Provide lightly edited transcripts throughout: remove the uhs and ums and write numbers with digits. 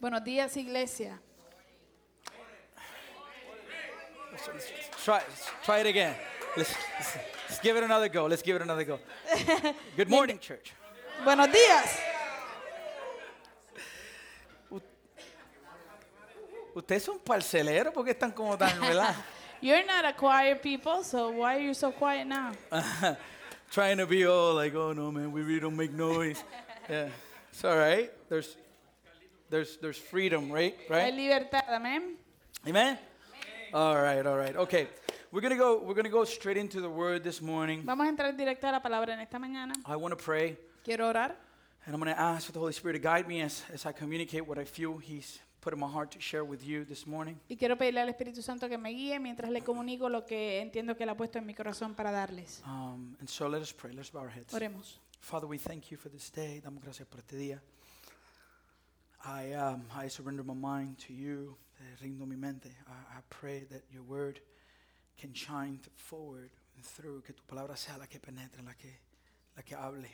Buenos días, iglesia. Try it again. Let's give it another go. Let's give it another go. Good morning, church. Buenos días. Ustedes son parceleros porque están como tan, ¿verdad? You're not a quiet people, so why are you so quiet now? Trying to be all like, oh no, man, we really don't make noise. Yeah, it's all right. There's freedom, right? Hay libertad, amén. Amen. All right. Okay, we're gonna go straight into the Word this morning. Vamos a entrar directo a la palabra en esta mañana. I want to pray, Quiero orar and I'm gonna ask for the Holy Spirit to guide me as I communicate what I feel He's put in my heart to share with you this morning. y quiero pedirle al Espíritu Santo que me guíe mientras le comunico lo que entiendo que Él ha puesto en mi corazón para darles. And so let us pray. Let's bow our heads. Oremos. Father, we thank you for this day. Damos gracias por este día. I surrender my mind to you. Rindo mi mente. I pray that your word can shine forward and through. Que tu palabra sea la que penetre, la que hable.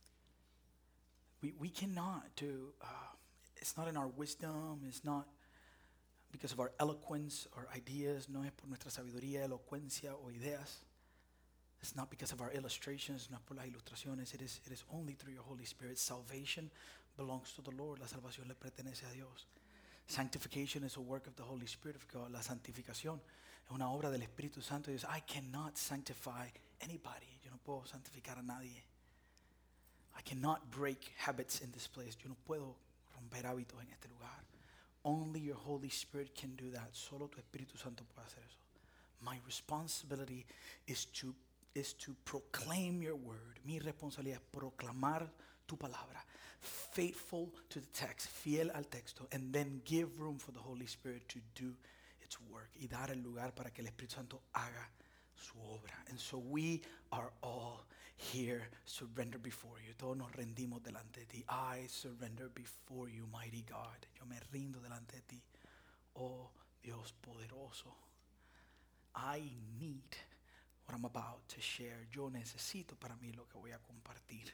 We cannot do. It's not in our wisdom. It's not because of our eloquence or ideas. No es por nuestra sabiduría, elocuencia o ideas. It's not because of our illustrations, no es por las ilustraciones. It is only through your Holy Spirit. Salvation belongs to the Lord. La salvación le pertenece a Dios. Sanctification is a work of the Holy Spirit of God. La santificación es una obra del Espíritu Santo de Dios. I cannot sanctify anybody. Yo no puedo santificar a nadie. I cannot break habits in this place. Yo no puedo romper hábitos en este lugar. Only your Holy Spirit can do that. Solo tu Espíritu Santo puede hacer eso. My responsibility is to proclaim your word. Mi responsabilidad es proclamar tu palabra. Faithful to the text, fiel al texto, and then give room for the Holy Spirit to do its work. Y dar el lugar para que el Espíritu Santo haga su obra. And so we are all here, surrender before you. Todos nos rendimos delante de ti. I surrender before you, mighty God. Yo me rindo delante de ti, oh Dios poderoso. I need what I'm about to share. Yo necesito para mí lo que voy a compartir.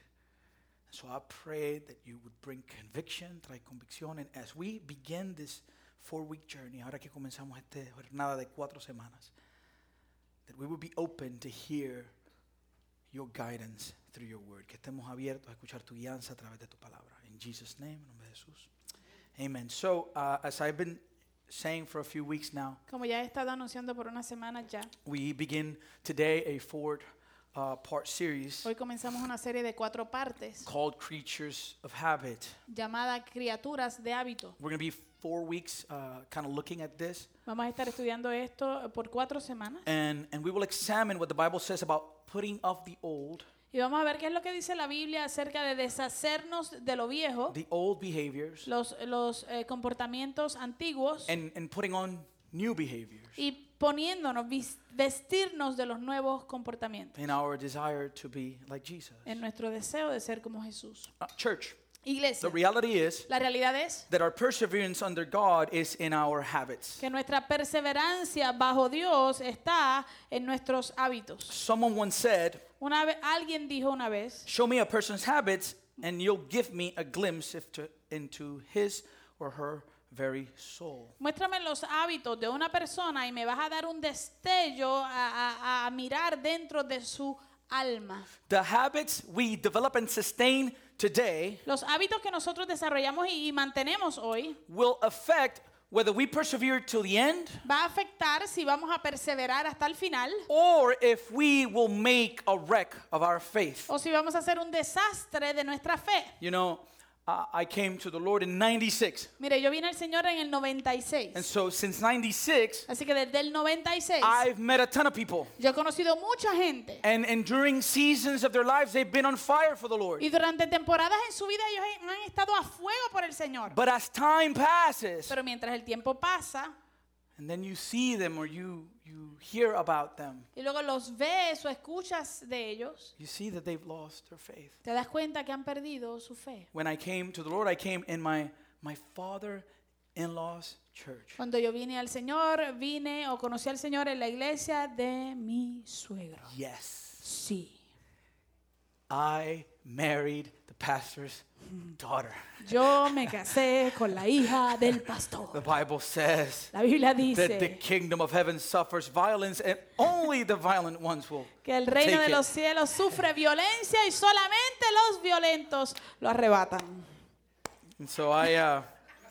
So I pray that you would bring conviction, trae convicción. And as we begin this 4-week journey, ahora que comenzamos esta jornada de 4 semanas, that we would be open to hear your guidance through your word. Que estemos abiertos a escuchar tu guianza a través de tu palabra. In Jesus' name, en nombre de Jesús. Amen. So as I've been saying for a few weeks now, Como ya he estado anunciando por unas semanas ya, we begin today a 4-part series hoy comenzamos una serie de 4 partes called Creatures of Habit. llamada Criaturas de Hábito. We're going to be 4 weeks kind of looking at this. Vamos a estar estudiando esto por 4 semanas And we will examine what the Bible says about putting off the old, y vamos a ver qué es lo que dice la Biblia acerca de deshacernos de lo viejo, the old behaviors, los comportamientos antiguos and putting on new behaviors y poniéndonos, vestirnos de los nuevos comportamientos in our desire to be like Jesus. en nuestro deseo de ser como Jesús. Church, Iglesia, the reality is la realidad es that our perseverance under God is in our habits. que nuestra perseverancia bajo Dios está en nuestros hábitos. Someone once said, Alguien dijo una vez, show me a person's habits and you'll give me a glimpse into his or her very soul. muéstrame los hábitos de una persona y me vas a dar un destello a mirar dentro de su alma. The habits we develop and sustain today Los hábitos que nosotros desarrollamos y mantenemos hoy will affect whether we persevere till the end va a afectar si vamos a perseverar hasta el final or if we will make a wreck of our faith. o si vamos a hacer un desastre de nuestra fe. You know, I came to the Lord in 96. Mire, yo vine al Señor en el 96. And so since 96, Así que desde el 96 I've met a ton of people. yo he conocido mucha gente. And during seasons of their lives, they've been on fire for the Lord. Y durante temporadas en su vida ellos han estado a fuego por el Señor. But as time passes, Pero mientras el tiempo pasa and then you see them or you hear about them, y luego los ves o escuchas de ellos, you see that they've lost their faith. te das cuenta que han perdido su fe. When I came to the Lord, I came in my father-in-law's church. Cuando yo vine al Señor, vine o conocí al Señor en la iglesia de mi suegro. Yes. Sí. I married the pastor's daughter. Yo me casé con la hija del The pastor. Bible says La Biblia that the dice kingdom of heaven suffers violence and only the violent ones will que el reino take de los it. cielos sufre violencia y solamente los violentos lo arrebatan. And so I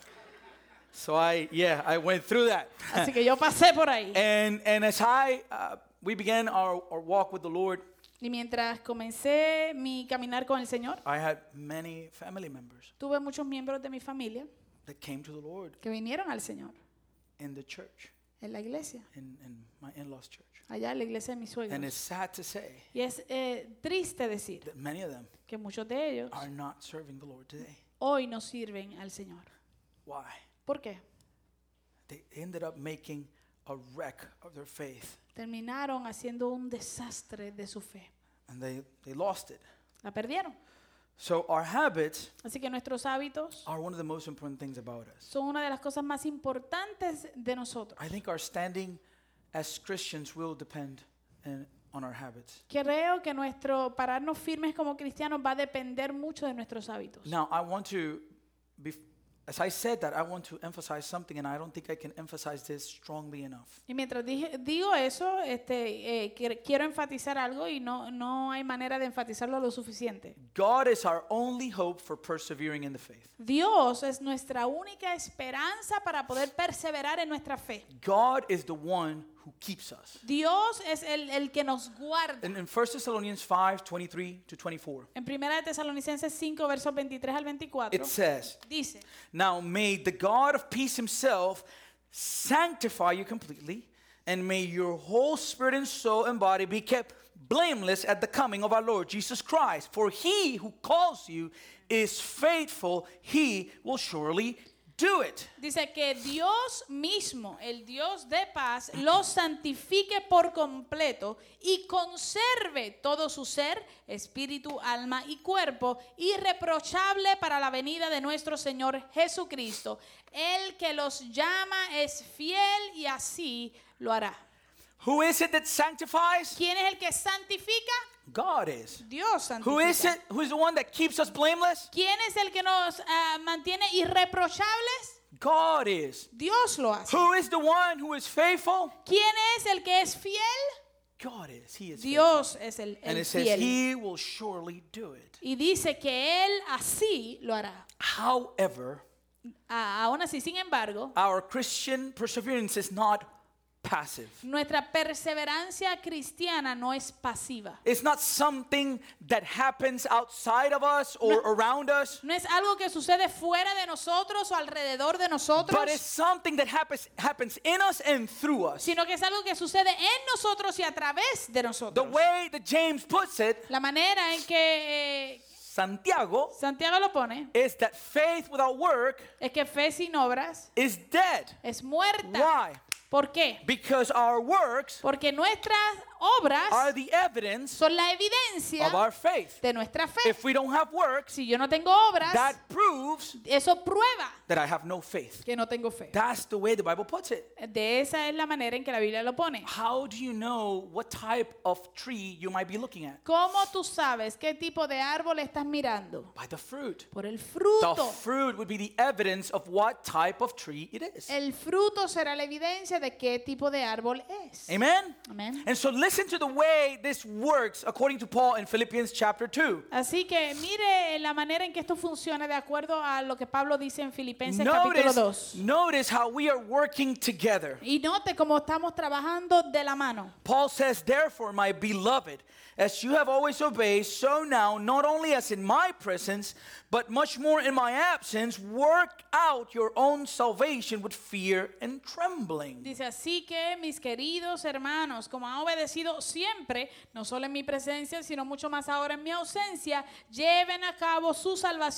went through that. Así que yo pasé por ahí. And as we began our walk with the Lord, Y mientras comencé mi caminar con el Señor, I had many family members tuve muchos miembros de mi familia that came to the Lord que vinieron al Señor in the church, en la iglesia, in my in-laws' church. allá en la iglesia de mis And it's suegros. sad to say Y es triste decir that many of them que muchos de ellos are not serving the Lord today. hoy no sirven al Señor. Why? ¿Por qué? They ended up making a wreck of their faith, Terminaron haciendo un desastre de su fe. and they lost it. La perdieron. So our habits Así que nuestros hábitos are one of the most important things about us. son una de las cosas más importantes de nosotros. I think our standing as Christians will depend on our habits. Creo que nuestro pararnos firmes como cristianos va a depender mucho de nuestros hábitos. Now, I want to, as I said that, I want to emphasize something, and I don't think I can emphasize this strongly enough. Y mientras digo eso, quiero enfatizar algo y no hay manera de enfatizarlo lo suficiente. God is our only hope for persevering in the faith. Dios es nuestra única esperanza para poder perseverar en nuestra fe. God is the one who keeps us. Dios es el que nos guarda. In 1 Thessalonians 5:23 to 24, En 1 de Tesalonicenses 5, versos 23 al 24, it says, dice, "Now may the God of peace himself sanctify you completely, and may your whole spirit and soul and body be kept blameless at the coming of our Lord Jesus Christ. For he who calls you is faithful, he will surely do it." dice que Dios mismo, el Dios de paz, los santifique por completo y conserve todo su ser, espíritu, alma y cuerpo, irreprochable para la venida de nuestro Señor Jesucristo. El que los llama es fiel y así lo hará. Who is it that sanctifies? ¿Quién es el que santifica? God is. Dios Who is santifica. it? Who is the one that keeps us blameless? ¿Quién es el que nos mantiene irreprochables? God is. Dios lo hace. Who is the one who is faithful? ¿Quién es el que es fiel? God is. He is faithful. Dios es el And it says fiel. he will surely do it. Y dice que Él así lo hará. However, Aún así, sin embargo, our Christian perseverance is not passive. nuestra perseverancia cristiana no es pasiva. It's not something that happens outside of us or around us, No es algo que sucede fuera de nosotros o alrededor de nosotros, but it's something that happens in us and through us. sino que es algo que sucede en nosotros y a través de The nosotros. way that James puts it, La manera en que Santiago, Santiago lo pone is that faith without work es que fe sin obras is dead. es muerta. Why? ¿Por qué? Because our works Porque nuestras are obras the evidence son la evidencia of our faith. de nuestra fe. If we don't have works, Si yo no tengo obras, that proves eso prueba that I have no faith. que no tengo fe. That's the way the Bible puts it. De esa es la manera en que la Biblia lo pone. How do you know what type of tree you might be looking at? ¿Cómo tú sabes qué tipo de árbol estás mirando? By the fruit. Por el The fruto. fruit would be the evidence of what type of tree it is. El fruto será la evidencia de qué tipo de árbol es. Amen? Amén. And so listen to the way this works according to Paul in Philippians chapter 2. Así que mire la manera en que esto funciona de acuerdo a lo que Pablo dice en Filipenses capítulo 2. Notice how we are working together. Y note cómo estamos trabajando de la mano. Paul says, "Therefore, my beloved, as you have always obeyed, so now, not only as in my presence, but much more in my absence, work out your own salvation with fear and trembling." Dice, así que mis queridos hermanos, como han obedecido siempre, no solo en mi presencia, sino mucho más ahora en mi ausencia, lleven a cabo su salvación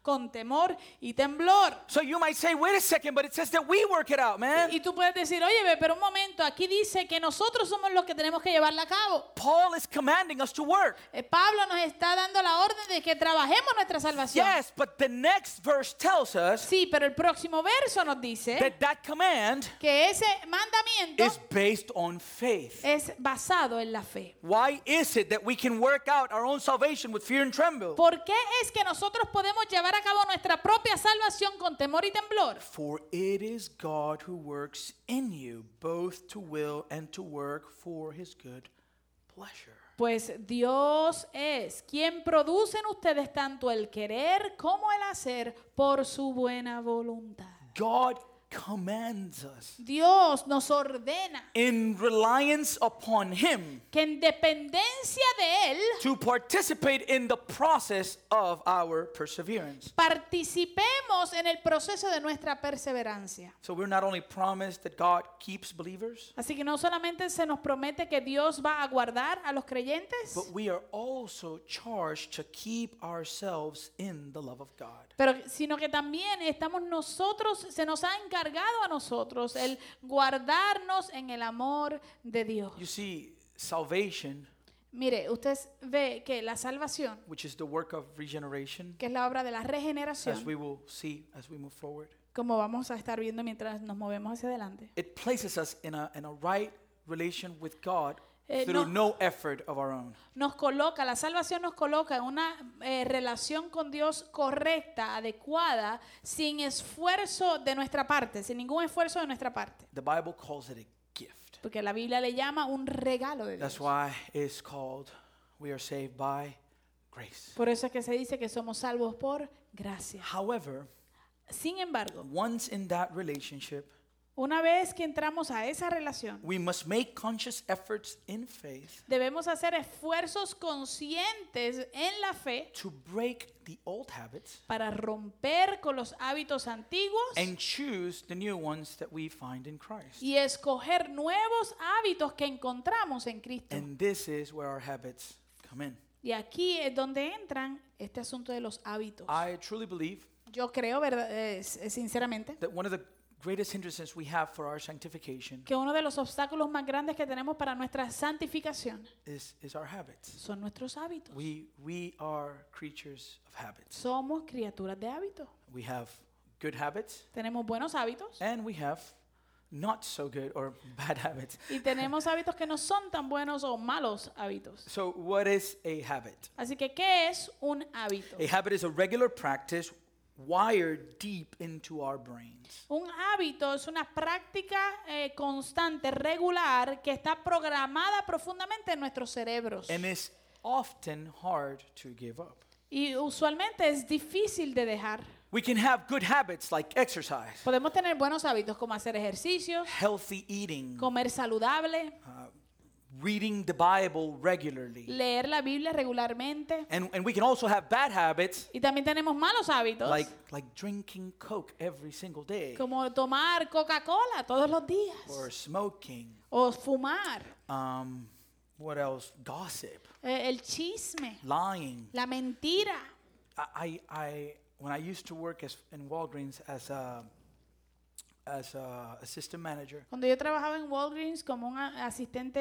con temor y temblor. So you might say, wait a second, but it says that we work it out, man. Y tú puedes decir, oye, pero un momento, aquí dice que nosotros somos los que tenemos que llevarla a cabo. Paul is commanding us to work. Pablo nos está dando la orden de que trabajemos nuestra salvación. Yes, but the next verse tells us Sí, pero el próximo verso nos dice that command que ese mandamiento is based on faith. es basado en la fe. Why is it that we can work out our own salvation with fear and tremble? ¿Por qué es que nosotros podemos llevar a cabo nuestra propia salvación con temor y temblor? For it is God who works in you both to will and to work for his good pleasure. Pues Dios es quien produce en ustedes tanto el querer como el hacer por su buena voluntad. God commands us Dios nos ordena in reliance upon him que en dependencia de Él to participate in the process of our perseverance. participemos en el proceso de nuestra perseverancia. So we're not only promised that God keeps believers, Así que no solamente se nos promete que Dios va a guardar a los creyentes, but we are also charged to keep ourselves in the love of God. pero sino que también estamos nosotros, se nos ha encargado a nosotros el guardarnos en el amor de Dios. You see, salvation, Mire, usted ve que la salvación, which is the work of regeneration, que es la obra de la as regeneración, we will see as we move forward, como vamos a estar viendo mientras nos movemos hacia adelante, it places us in a right relation with God no- through no effort of our own. nos coloca, la salvación nos coloca en una relación con Dios correcta, adecuada, sin esfuerzo de nuestra parte, sin ningún esfuerzo de nuestra parte. The Bible calls it a gift. Porque la Biblia le llama un regalo de That's Dios. why it's called we are saved by grace. Por eso es que se dice que somos salvos por gracia. However, Sin embargo, once in that relationship, una vez que entramos a esa relación, we must make conscious efforts in faith debemos hacer esfuerzos conscientes en la fe to break the old habits para romper con los hábitos antiguos and choose the new ones that we find in Christ. y escoger nuevos hábitos que encontramos en Cristo. And this is where our habits come in. Y aquí es donde entran este asunto de los hábitos. I truly believe Yo creo, sinceramente, that one of the greatest hindrances we have for our sanctification que uno de los obstáculos más grandes que tenemos para nuestra santificación is our habits. son nuestros hábitos. We are creatures of habits. Somos criaturas de hábitos. We have good habits Tenemos buenos hábitos and we have not so good or bad habits. y tenemos hábitos que no son tan buenos o malos hábitos. So what is a habit? Así que, ¿qué es un hábito? A habit is a regular practice wired deep into our brains. Un hábito es una práctica constante, regular, que está programada profundamente en nuestros cerebros. And it's often hard to give up. Y usualmente es difícil de dejar. We can have good habits like exercise, Podemos tener buenos hábitos como hacer ejercicios, healthy eating, comer saludable, reading the Bible regularly. leer la Biblia regularmente. And we can also have bad habits Y también tenemos malos hábitos, like drinking Coke every single day como tomar Coca-Cola todos los días, or smoking. o fumar, What else? Gossip, el chisme, lying. la mentira. When I used to work in Walgreens as a assistant manager, Cuando yo trabajaba en Walgreens como un asistente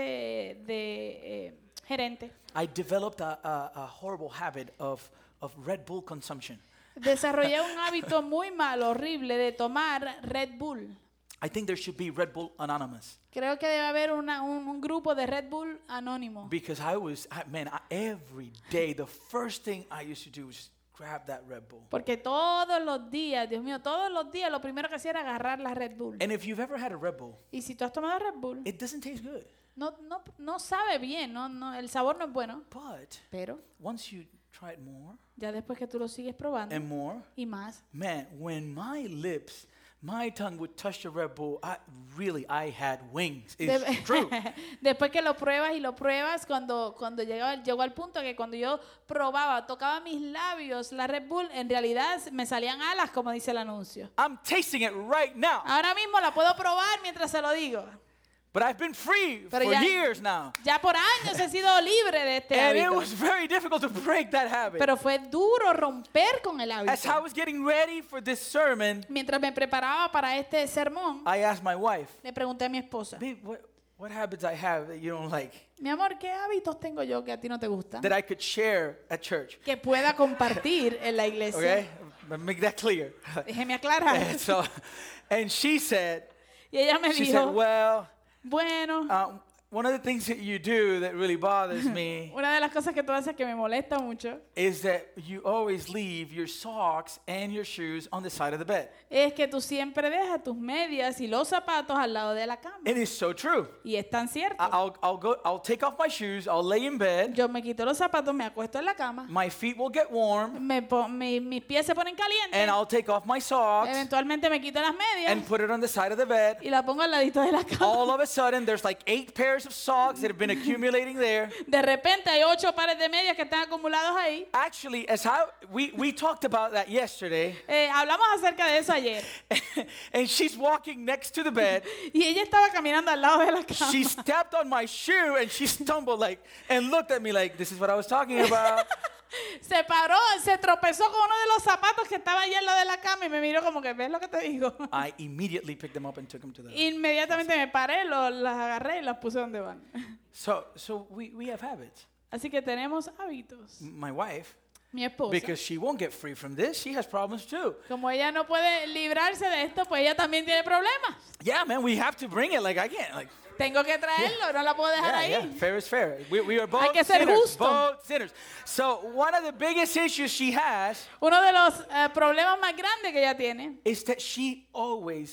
de gerente, I developed a horrible habit of Red Bull consumption. desarrollé un hábito muy malo, horrible, de tomar Red Bull. I think there should be Red Bull Anonymous Creo que debe haber un grupo de Red Bull anónimo. because every day the first thing I used to do was just grab that Red Bull. Porque todos los días, Dios mío, todos los días lo primero que hacía era agarrar la Red Bull. And if you've ever had a Red Bull, Y si tú has tomado Red Bull, it doesn't taste good. no sabe bien, el sabor no es bueno. But Pero once you try it more ya después que tú lo sigues probando and more, y más, man, when my tongue would touch the Red Bull, I had wings. It's true. después que lo pruebas y lo pruebas, cuando llegó al punto que cuando yo tocaba mis labios la Red Bull, en realidad me salían alas, como dice el anuncio. I'm tasting it right now. Ahora mismo la puedo probar mientras se lo digo. But I've been free Pero for ya- years now. Ya por años he sido libre de este And it hábito. was very difficult to break that habit. Pero fue duro romper con el As I hábito. was getting ready for this sermon, Mientras me preparaba para este sermón, I asked my wife, le pregunté a mi esposa, babe, what habits I have that you don't like mi amor, ¿qué hábitos tengo yo que a ti no te gustan? that I could share at church? Que pueda compartir en la iglesia. Okay? But make that clear. Déjeme aclarar. And she said, Y ella me she said, dijo, well, bueno, one of the things that you do that really bothers me una de las cosas que tú haces que me molesta mucho is that you always leave your socks and your shoes on the side of the bed. es que tú siempre dejas tus medias y los zapatos al lado de la cama. It is so true. Y es tan cierto. I'll take off my shoes, I'll lay in bed, Yo me quito los zapatos, me acuesto en la cama, my feet will get warm, mis pies se ponen calientes, and I'll take off my socks eventualmente me quito las medias and put it on the side of the bed. y la pongo al ladito de la cama. All of a sudden, there's like 8 pairs of socks that have been accumulating there. De repente hay 8 pares de medias que están acumulados ahí. Actually, we talked about that yesterday, Hablamos acerca de eso ayer. and she's walking next to the bed. Y ella estaba caminando al lado de la cama. She stepped on my shoe and she stumbled and looked at me like, this is what I was talking about. Se paró, se tropezó con uno de los zapatos que estaba allí al lado de la cama y me miró como que, ¿ves lo que te digo? I immediately picked them up and took them to the... Inmediatamente me paré, las agarré y las puse donde van. So we have habits. Así que tenemos hábitos. My wife, Mi esposa, because she won't get free from this, she has problems too. como ella no puede librarse de esto, pues ella también tiene problemas. Yeah, man, we have to bring it. Like, I can't. Like, Tengo que traerlo, no la puedo dejar ahí. yeah, fair is fair. We are both Hay que ser sinners. justo. Both sinners. So one of the biggest issues she has Uno de los problemas más grandes que ella tiene is that she always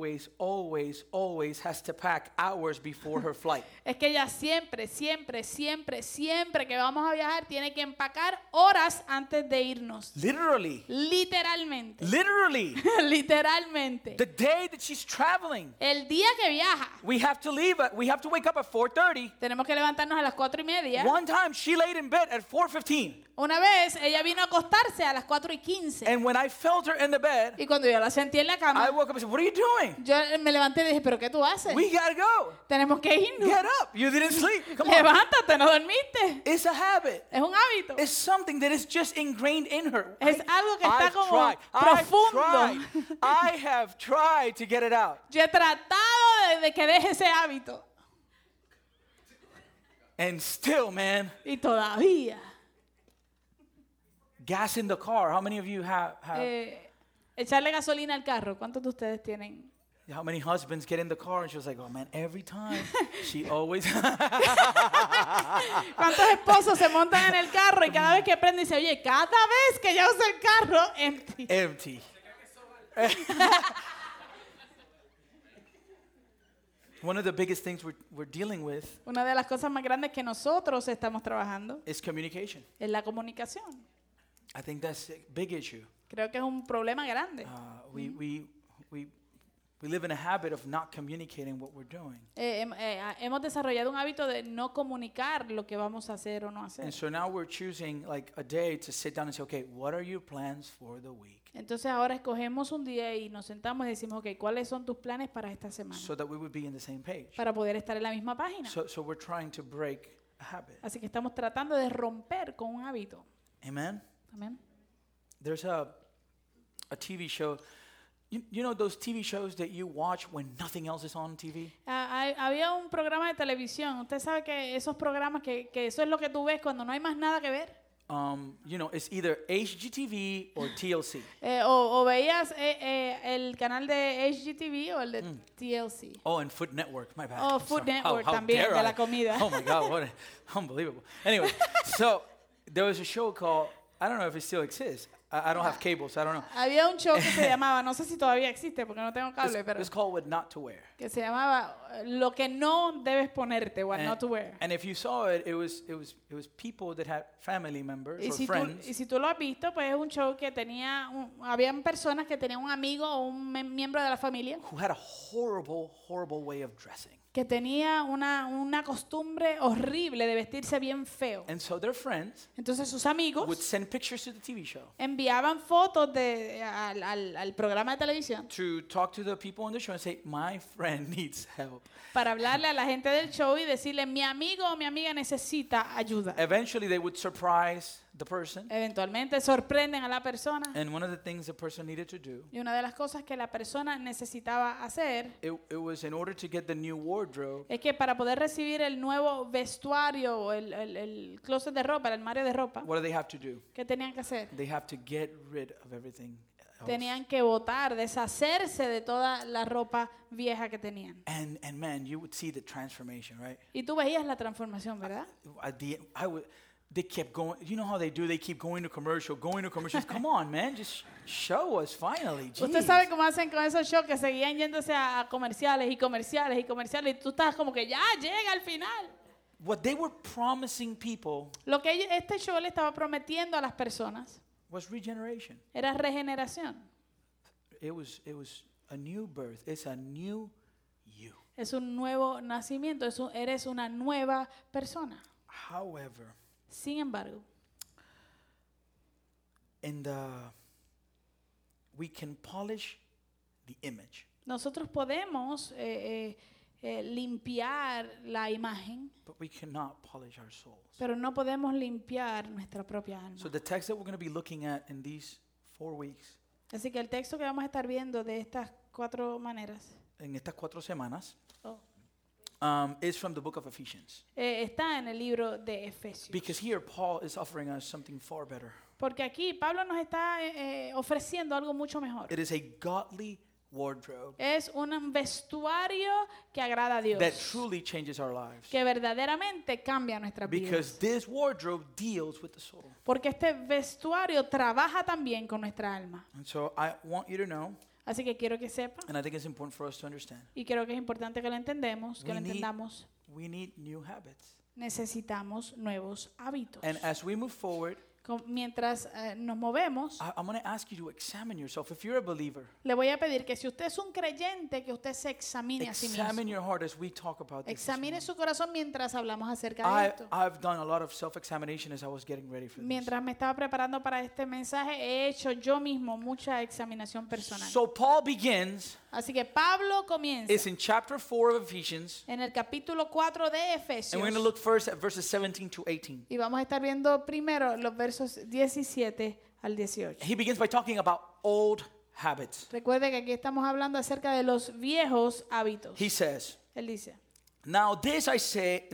has to pack hours before her flight. es que ella siempre que vamos a viajar tiene que empacar horas antes de irnos. Literally. Literalmente. Literalmente. The day that she's traveling, El día que viaja, we have to wake up at 4:30. tenemos que levantarnos a las 4:30. One time she laid in bed at 4:15. Una vez ella vino a acostarse a las 4:15. And when I felt her in the bed, Y cuando yo la sentí en la I cama, woke up and said, "What are you doing? yo me levanté y dije, ¿pero qué tú haces? We gotta go. Tenemos que irnos. Get up. You didn't sleep. Come on." Levántate, no dormiste. It's a habit. Es un hábito. It's something that is just ingrained in her. Es algo que está I've como tried. profundo. I have tried to get it out. Yo he tratado de que deje ese hábito. And still, man, Y todavía. gas in the car. How many of you have Echarle gasolina al carro. ¿Cuántos de ustedes tienen? how many husbands get in the car and she was like, "Oh man, every time she always ¿Cuántos esposos se montan en el carro y cada vez que prende dice, oye, cada vez que yo uso el carro, empty? empty." One of the biggest things we're dealing with Una de las cosas más grandes que nosotros estamos trabajando is communication. es la comunicación. I think that's a big issue. Creo que es un problema grande. We live in a habit of not communicating what we're doing. Hemos desarrollado un hábito de no comunicar lo que vamos a hacer o no hacer. And so now we're choosing like a day to sit down and say, okay, what are your plans for the week? Entonces ahora escogemos un día y nos sentamos y decimos, ok, ¿cuáles son tus planes para esta semana? So that we would be in the same page. Para poder estar en la misma página. So we're trying to break a habit. Así que estamos tratando de romper con un hábito. Amen? Amén. There's a TV show. You know those TV shows that you watch when nothing else is on TV? Había un programa de televisión. Usted sabe que esos programas, que eso es lo que tú ves cuando no hay más nada que ver. You know, it's either HGTV or TLC. O veías el canal de HGTV o el de TLC. Oh, and Food Network, my bad. Oh, I'm Food sorry. Network How también, dare de I? la comida. Oh my God, unbelievable. Anyway, so there was a show called, I don't know if it still exists. I don't have cable, so I don't know. Había un show que se llamaba, no sé si todavía existe porque no tengo cable, pero It's called What Not to Wear. que se llamaba Lo que no debes ponerte, what not to wear. And if you saw it, it was people that had family members Y or si, friends tú lo has visto, pues es un show que tenía, habían personas que tenían un amigo o un miembro de la familia who had a horrible way of dressing. que tenía una costumbre horrible de vestirse bien feo. And so their friends Entonces sus would amigos send pictures to the TV show. enviaban fotos al programa de televisión to talk to the people on the show and say, my friend needs help. para hablarle a la gente del show y decirle, mi amigo o mi amiga necesita ayuda. Eventually, they would surprise the person. Eventualmente sorprenden a la persona. And one of the things the person needed to do, Y una de las cosas que la persona necesitaba hacer it was in order to get the new wardrobe, es que para poder recibir el nuevo vestuario o el closet de ropa, el armario de ropa, what do they have to do? ¿qué tenían que hacer? They have to get rid of everything else. Tenían que botar, deshacerse de toda la ropa vieja que tenían. And man, you would see the transformation, right? Y tú veías la transformación, ¿verdad? They kept going. You know how they do? They keep going to commercials. Come on, man, just show us finally. Usted Jeez. sabe cómo hacen con esos shows que seguían yéndose a comerciales y comerciales y comerciales y tú estás como que ya llega al final. What they were promising people Lo que este show le estaba prometiendo a las personas was regeneration. era regeneración. It was a new birth. It's a new you. Es un nuevo nacimiento, eres una nueva persona. However, Sin embargo, we can polish the image, nosotros podemos limpiar la imagen, but we cannot polish our souls. pero no podemos limpiar nuestra propia alma. So the text that we're going to be looking at in these 4 weeks, Así que el texto que vamos a estar viendo de estas 4 maneras en estas 4 semanas, oh, is from the book of Ephesians. Está en el libro de Efesios. Because here Paul is offering us something far better. Porque aquí Pablo nos está ofreciendo algo mucho mejor. It is a godly wardrobe Es un vestuario que agrada a Dios, that truly changes our lives. que verdaderamente cambia nuestras Because vidas. this wardrobe deals with the soul. Porque este vestuario trabaja también con nuestra alma. And so I want you to know, Así que quiero que sepa, and I think it's important for us to understand, y creo que es importante que lo entendamos, que lo entendamos. we need new habits. Necesitamos nuevos hábitos. And as we move forward, Mientras nos movemos, I'm going to ask you to examine yourself. If you're a believer, le voy a pedir que si usted es un creyente, que usted se examine a sí examine mismo. your heart as we talk about this. Examine su corazón mientras hablamos acerca de esto. I've done a lot of self-examination as I was getting ready for this. Mientras me estaba preparando para este mensaje, he hecho yo mismo mucha examinación personal. So Paul begins, Así que Pablo comienza it's in chapter 4 of Ephesians, en el capítulo 4 de and Efesios. we're going to look first at verses 17 to 18. Y vamos a estar viendo primero los versos 17 al 18. He begins by talking about old habits. Recuerde que aquí estamos hablando acerca de los viejos hábitos. He says, Él dice, now this I say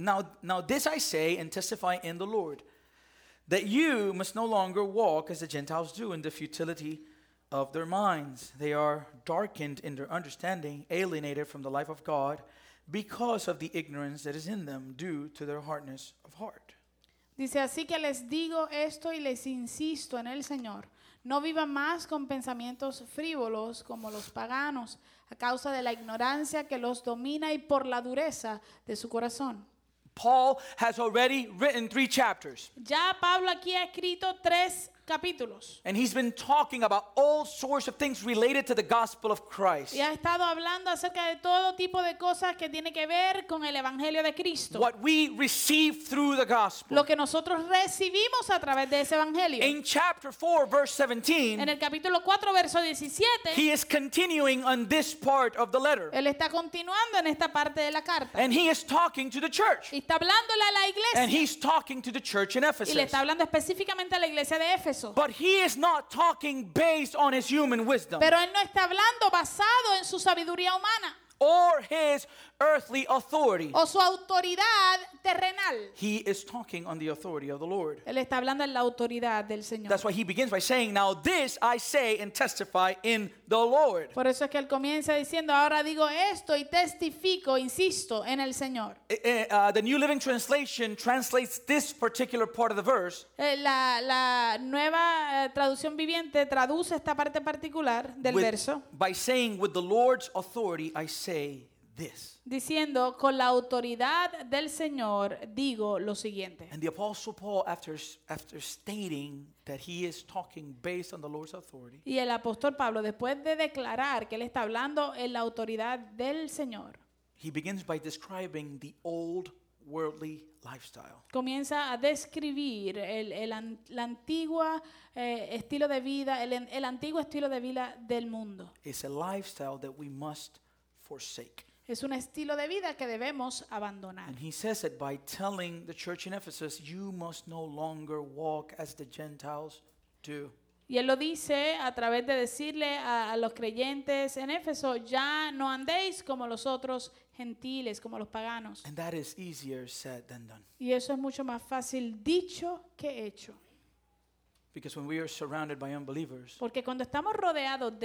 and testify in the Lord, that you must no longer walk as the Gentiles do in the futility of their minds. They are darkened in their understanding, alienated from the life of God, because of the ignorance that is in them due to their hardness of heart. dice, así que les digo esto y les insisto en el Señor, no vivan más con pensamientos frívolos como los paganos, a causa de la ignorancia que los domina y por la dureza de su corazón. Paul has already written 3 chapters, Ya Pablo aquí ha escrito 3 capítulos and he's been talking about all sorts of things related to the gospel of Christ. y ha estado hablando acerca de todo tipo de cosas que tiene que ver con el evangelio de Cristo. What we receive through the gospel. Lo que nosotros recibimos a través de ese evangelio. In chapter 4, verse 17, En el capítulo 4, verso 17, he is continuing on this part of the letter. él está continuando en esta parte de la carta. And he is talking to the church. Y está hablándole a la And iglesia. he's talking to the church in Y le Ephesus. está hablando específicamente a la iglesia de Éfeso. But he is not talking based on his human wisdom Pero él no está hablando basado en su sabiduría humana or his earthly authority. o su autoridad terrenal. He is talking on the authority of the Lord. Él está hablando en la autoridad del Señor. That's why he begins by saying, now this I say and testify in the Lord. Por eso es que él comienza diciendo, ahora digo esto y testifico, insisto, en el Señor. The New Living Translation translates this particular part of the verse La nueva traducción viviente traduce esta parte particular del verso by saying, with the Lord's authority I say this. diciendo, con la autoridad del Señor digo lo siguiente. And the Apostle Paul, after stating that he is talking based on the Lord's authority, Y el apóstol Pablo, después de declarar que él está hablando en la autoridad del Señor, he begins by describing the old worldly lifestyle. Comienza a describir la antigua estilo de vida, el antiguo estilo de vida del mundo. It's a lifestyle that we must forsake. Es un estilo de vida que debemos abandonar. And he says it by telling the church in Ephesus, you must no longer walk as the Gentiles do. Y él lo dice a través de decirle a los creyentes en Éfeso, ya no andéis como los otros gentiles, como los paganos. And that is easier said than done. Y eso es mucho más fácil dicho que hecho. Because when we are surrounded by unbelievers, Porque cuando estamos rodeados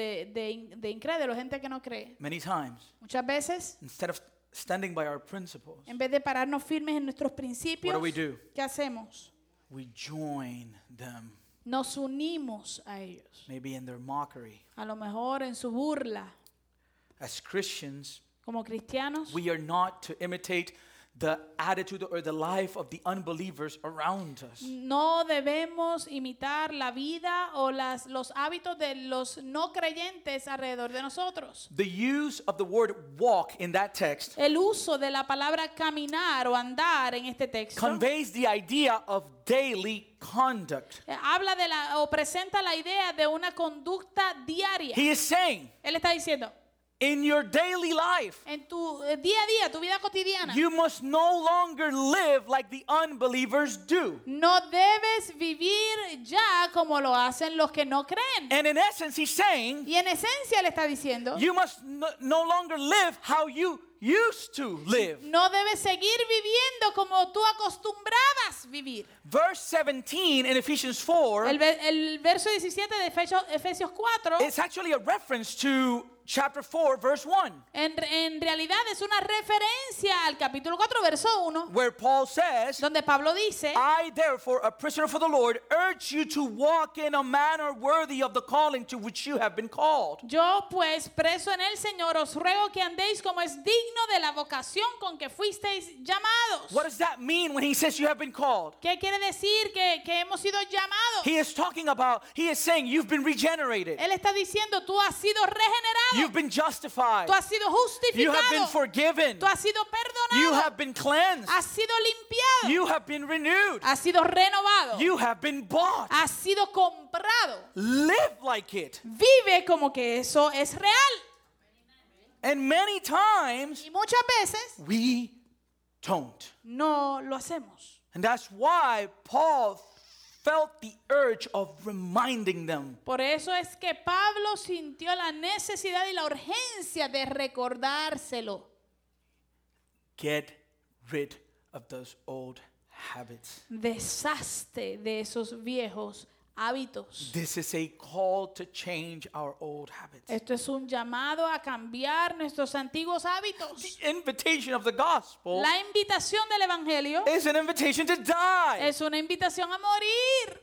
de incrédulos, gente que no cree, many times, muchas veces, instead of standing by our principles, en vez de pararnos firmes en nuestros principios, what do? ¿qué hacemos? We join them, Nos unimos a ellos. maybe in their mockery. A lo mejor en su burla. As Christians, Como cristianos, we are not to imitate the attitude or the life of the unbelievers around us. no debemos imitar la vida o los hábitos de los no creyentes alrededor de nosotros. The use of the word walk in that text El uso de la palabra caminar o andar en este texto conveys the idea of daily conduct. habla o presenta la idea de una conducta diaria. He is saying, Él está diciendo, in your daily life, en tu día a día, tu vida cotidiana, you must no longer live like the unbelievers do. no debes vivir ya como lo hacen los que no creen. And in essence, he's saying, Y en esencia le está diciendo, you must no longer live how you used to live. no debes seguir viviendo como tú acostumbrabas vivir. Verse 17 in Ephesians 4, El verso 17 de Efesios 4 it's actually a reference to chapter 4, verse 1, en realidad es una referencia al capítulo 4, verso 1, where Paul says, donde Pablo dice, I therefore, a prisoner for the Lord, urge you to walk in a manner worthy of the calling to which you have been called. yo pues preso en el Señor os ruego que andéis como es digno de la vocación con que fuisteis llamados. What does that mean when he says you have been called? ¿Qué quiere decir que hemos sido llamados? He is saying you've been regenerated. Él está diciendo, tú has sido regenerado, You've been justified. tú has sido You have been justificado, forgiven. tú has sido You perdonado, have been cleansed. has sido limpiado, You have been renewed. has sido renovado, You have been bought. has sido comprado. Live like it. Vive como que eso es real. And many times Y muchas veces we don't. no lo hacemos. And that's why Paul felt the urge of reminding them. Por eso es que Pablo sintió la necesidad y la urgencia de recordárselo. Get rid of those old habits. Deshazte de esos viejos hábitos. This is a call to change our old habits. Esto es un llamado a cambiar nuestros antiguos hábitos. The invitation of the gospel La invitación del evangelio is an invitation to die. es una invitación a morir.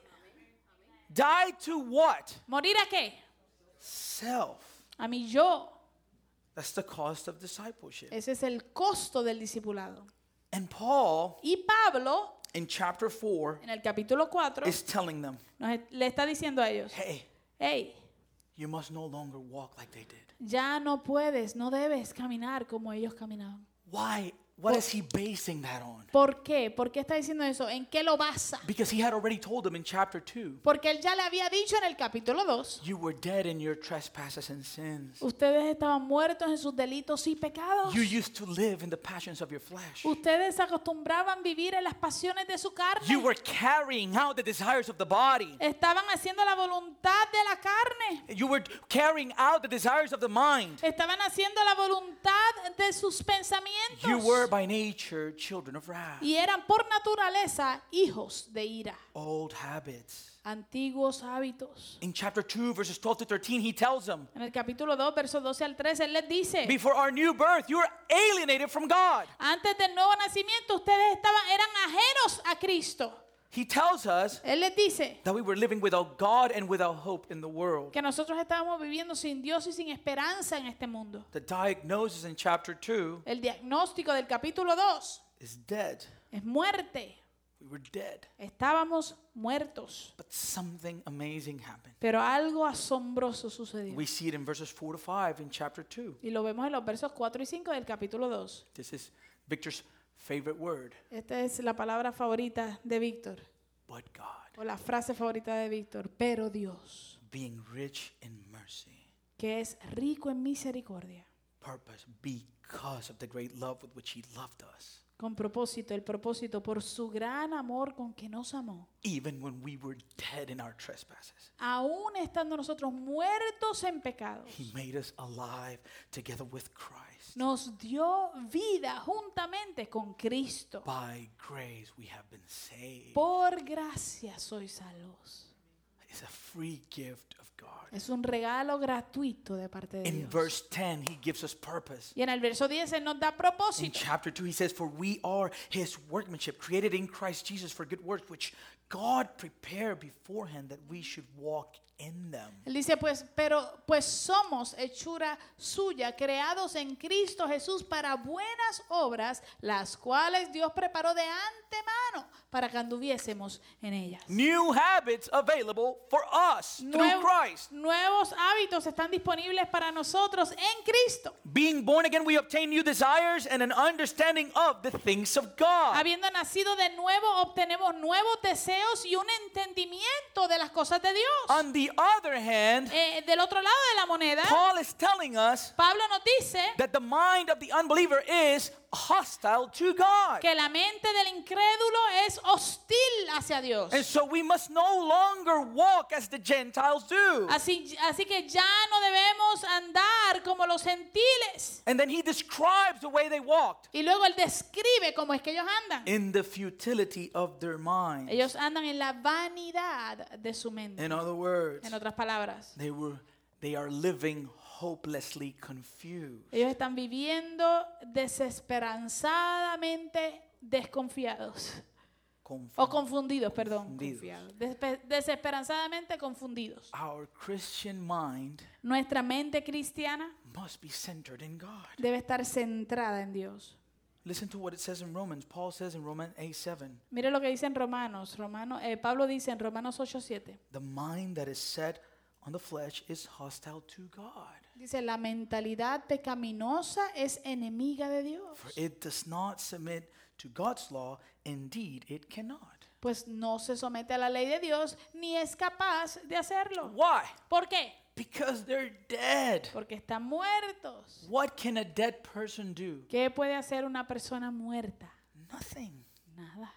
Die to what? ¿Morir a qué? Self. A mi yo. That's the cost of discipleship. Ese es el costo del discipulado. And Paul, Y Pablo, in chapter 4, en el capítulo 4, is telling them, le está diciendo a ellos, hey, hey, you must no longer walk like they did. ya no puedes, no debes caminar como ellos caminaban. Why? What is he basing that on? ¿Por qué? ¿Por qué está diciendo eso? ¿En qué lo basa? Because he had already told them in chapter 2, Porque él ya le había dicho en el capítulo 2, you were dead in your trespasses and sins. ustedes estaban muertos en sus delitos y pecados. You used to live in the passions of your flesh. Ustedes se acostumbraban a vivir en las pasiones de su carne. You were carrying out the desires of the body. Estaban haciendo la voluntad de la carne. You were carrying out the desires of the mind. Estaban haciendo la voluntad de sus pensamientos. You were by nature children of wrath. Y eran por naturaleza hijos de ira. Old habits. Antiguos hábitos. In chapter 2, verses 12 to 13, he tells them, En el capítulo 2, versos 12 al 13, él les dice, before our new birth, you were alienated from God. antes del nuevo nacimiento ustedes eran ajenos a Cristo. He tells us Él les dice that we were living without God and without hope in the world. que nosotros estábamos viviendo sin Dios y sin esperanza en este mundo. The diagnosis in chapter 2 El diagnóstico del capítulo 2 is dead. es muerte. We were dead. Estábamos muertos. But something amazing happened. Pero algo asombroso sucedió. We see it in verses 4 to 5 in chapter 2. Y lo vemos en los versos 4 y 5 del capítulo 2. This is Victor's favorite word, Esta es la palabra favorita de Víctor, but God, o la frase favorita de Víctor, pero Dios, being rich in mercy, que es rico en misericordia, purpose, because of the great love with which He loved us, con propósito, el propósito por su gran amor con que nos amó, even when we were dead in our trespasses. aún estando nosotros muertos en pecados, He made us alive together with Christ. nos dio vida juntamente con Cristo. By grace we have been saved. Por gracia sois salvos. It's a free gift of God. Es un regalo gratuito de parte de In Dios. verse 10, He gives us purpose. Y en el verso 10 Él nos da In propósito. chapter 2, He says, "For we are His workmanship, created in Christ Jesus for good works, which God prepared beforehand that we should walk in them." Él dice, pues somos hechura suya, creados en Cristo Jesús para buenas obras, las cuales Dios preparó de antemano para que anduviésemos en ellas. New habits available for us through Christ. Nuevos hábitos están disponibles para nosotros en Cristo. Being born again, we obtain new desires and an understanding of the things of God. Habiendo nacido de nuevo, obtenemos nuevos deseos y un entendimiento de las cosas de Dios. On the other hand, Del otro lado de la moneda, Paul is telling us Pablo nos dice that the mind of the unbeliever is hostile to God. que la mente del incrédulo es hostil hacia Dios. And so we must no longer walk as the Gentiles do. Así que ya no debemos andar como los gentiles. And then he describes the way they walked. Y luego él describe cómo es que ellos andan. In the futility of their mind. Ellos andan en la vanidad de su mente. In other words, En otras palabras, they are living hopelessly confused. ellos están viviendo desesperanzadamente desconfiados. O confundidos, perdón. Confundidos. Confiados. Desesperanzadamente confundidos. Our Christian mind Nuestra mente cristiana must be centered in God. debe estar centrada en Dios. Listen to what it says in Romans. Paul says in Romans 8:7, Mire lo que dice en Pablo dice en Romanos 8:7. the mind that is set on the flesh is hostile to God. Dice, la mentalidad pecaminosa es enemiga de Dios. For it does not submit to God's law, indeed it cannot. Pues no se somete a la ley de Dios ni es capaz de hacerlo. Why? ¿Por qué? Because they're dead. Porque están muertos. What can a dead person do? ¿Qué puede hacer una persona muerta? Nothing. Nada.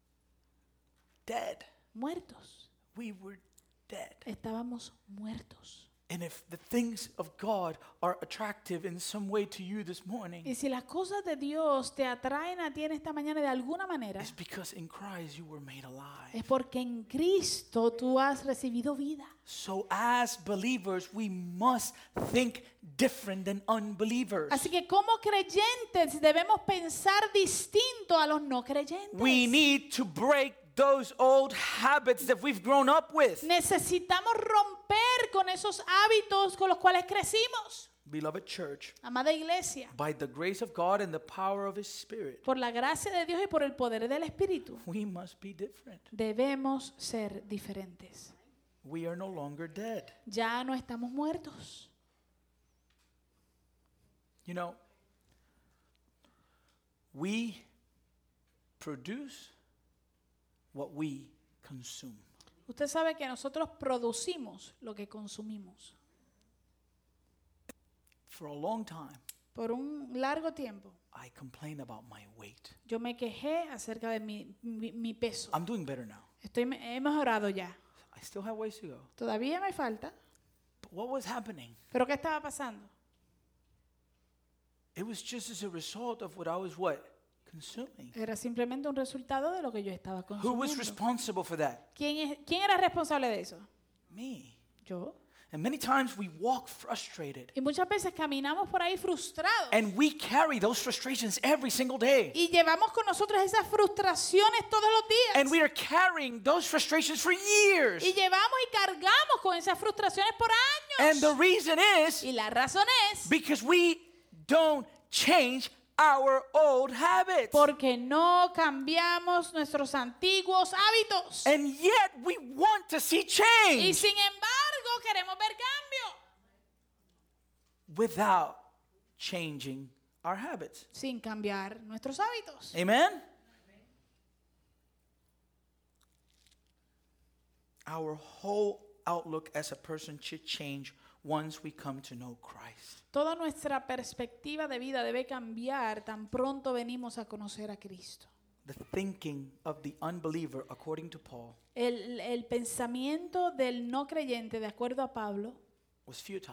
Dead. Muertos. We were dead. Estábamos muertos. And if the things of God are attractive in some way to you this morning, Y si las cosas de Dios te atraen a ti en esta mañana de alguna manera, it's because in Christ you were made es alive. porque en Cristo tú has recibido vida. So as believers, we must think different than unbelievers. Así que como creyentes debemos pensar distinto a los no creyentes. We need to break those old habits that we've grown up with. Necesitamos romper con esos hábitos con los cuales crecimos. Beloved church, Amada iglesia, by the grace of God and the power of His Spirit, por la gracia de Dios y por el poder del Espíritu, we must be different. debemos ser diferentes. We are no longer dead. Ya no estamos muertos. You know, we produce what we consume. Usted sabe que nosotros producimos lo que consumimos. For a long time, Por un largo tiempo, I complained about my weight. yo me quejé acerca de mi peso. I'm doing better now. He mejorado ya. I still have ways to go. Todavía me falta. But what was happening? ¿Pero qué estaba pasando? It was just as a result of what I was consuming. Era simplemente un resultado de lo que yo estaba Who was consumiendo. responsible for that? ¿Quién era responsable de eso? Me. Yo. And many times we walk frustrated. Y muchas veces caminamos por ahí frustrados. And we carry those frustrations every single day. Y llevamos con nosotros esas frustraciones todos los días. And we are carrying those frustrations for years. Y llevamos y cargamos con esas frustraciones por And años. the reason is Y la razón es because we don't change our old habits. porque no cambiamos nuestros antiguos hábitos. And yet we want to see Y change sin embargo queremos ver cambio without changing our habits. sin cambiar nuestros hábitos. Amen? Our whole outlook as a person should change once we come to know Christ. Toda nuestra perspectiva de vida debe cambiar tan pronto venimos a conocer a Cristo. The thinking of the unbeliever, according to Paul, El pensamiento del no creyente, de acuerdo a Pablo, was futile.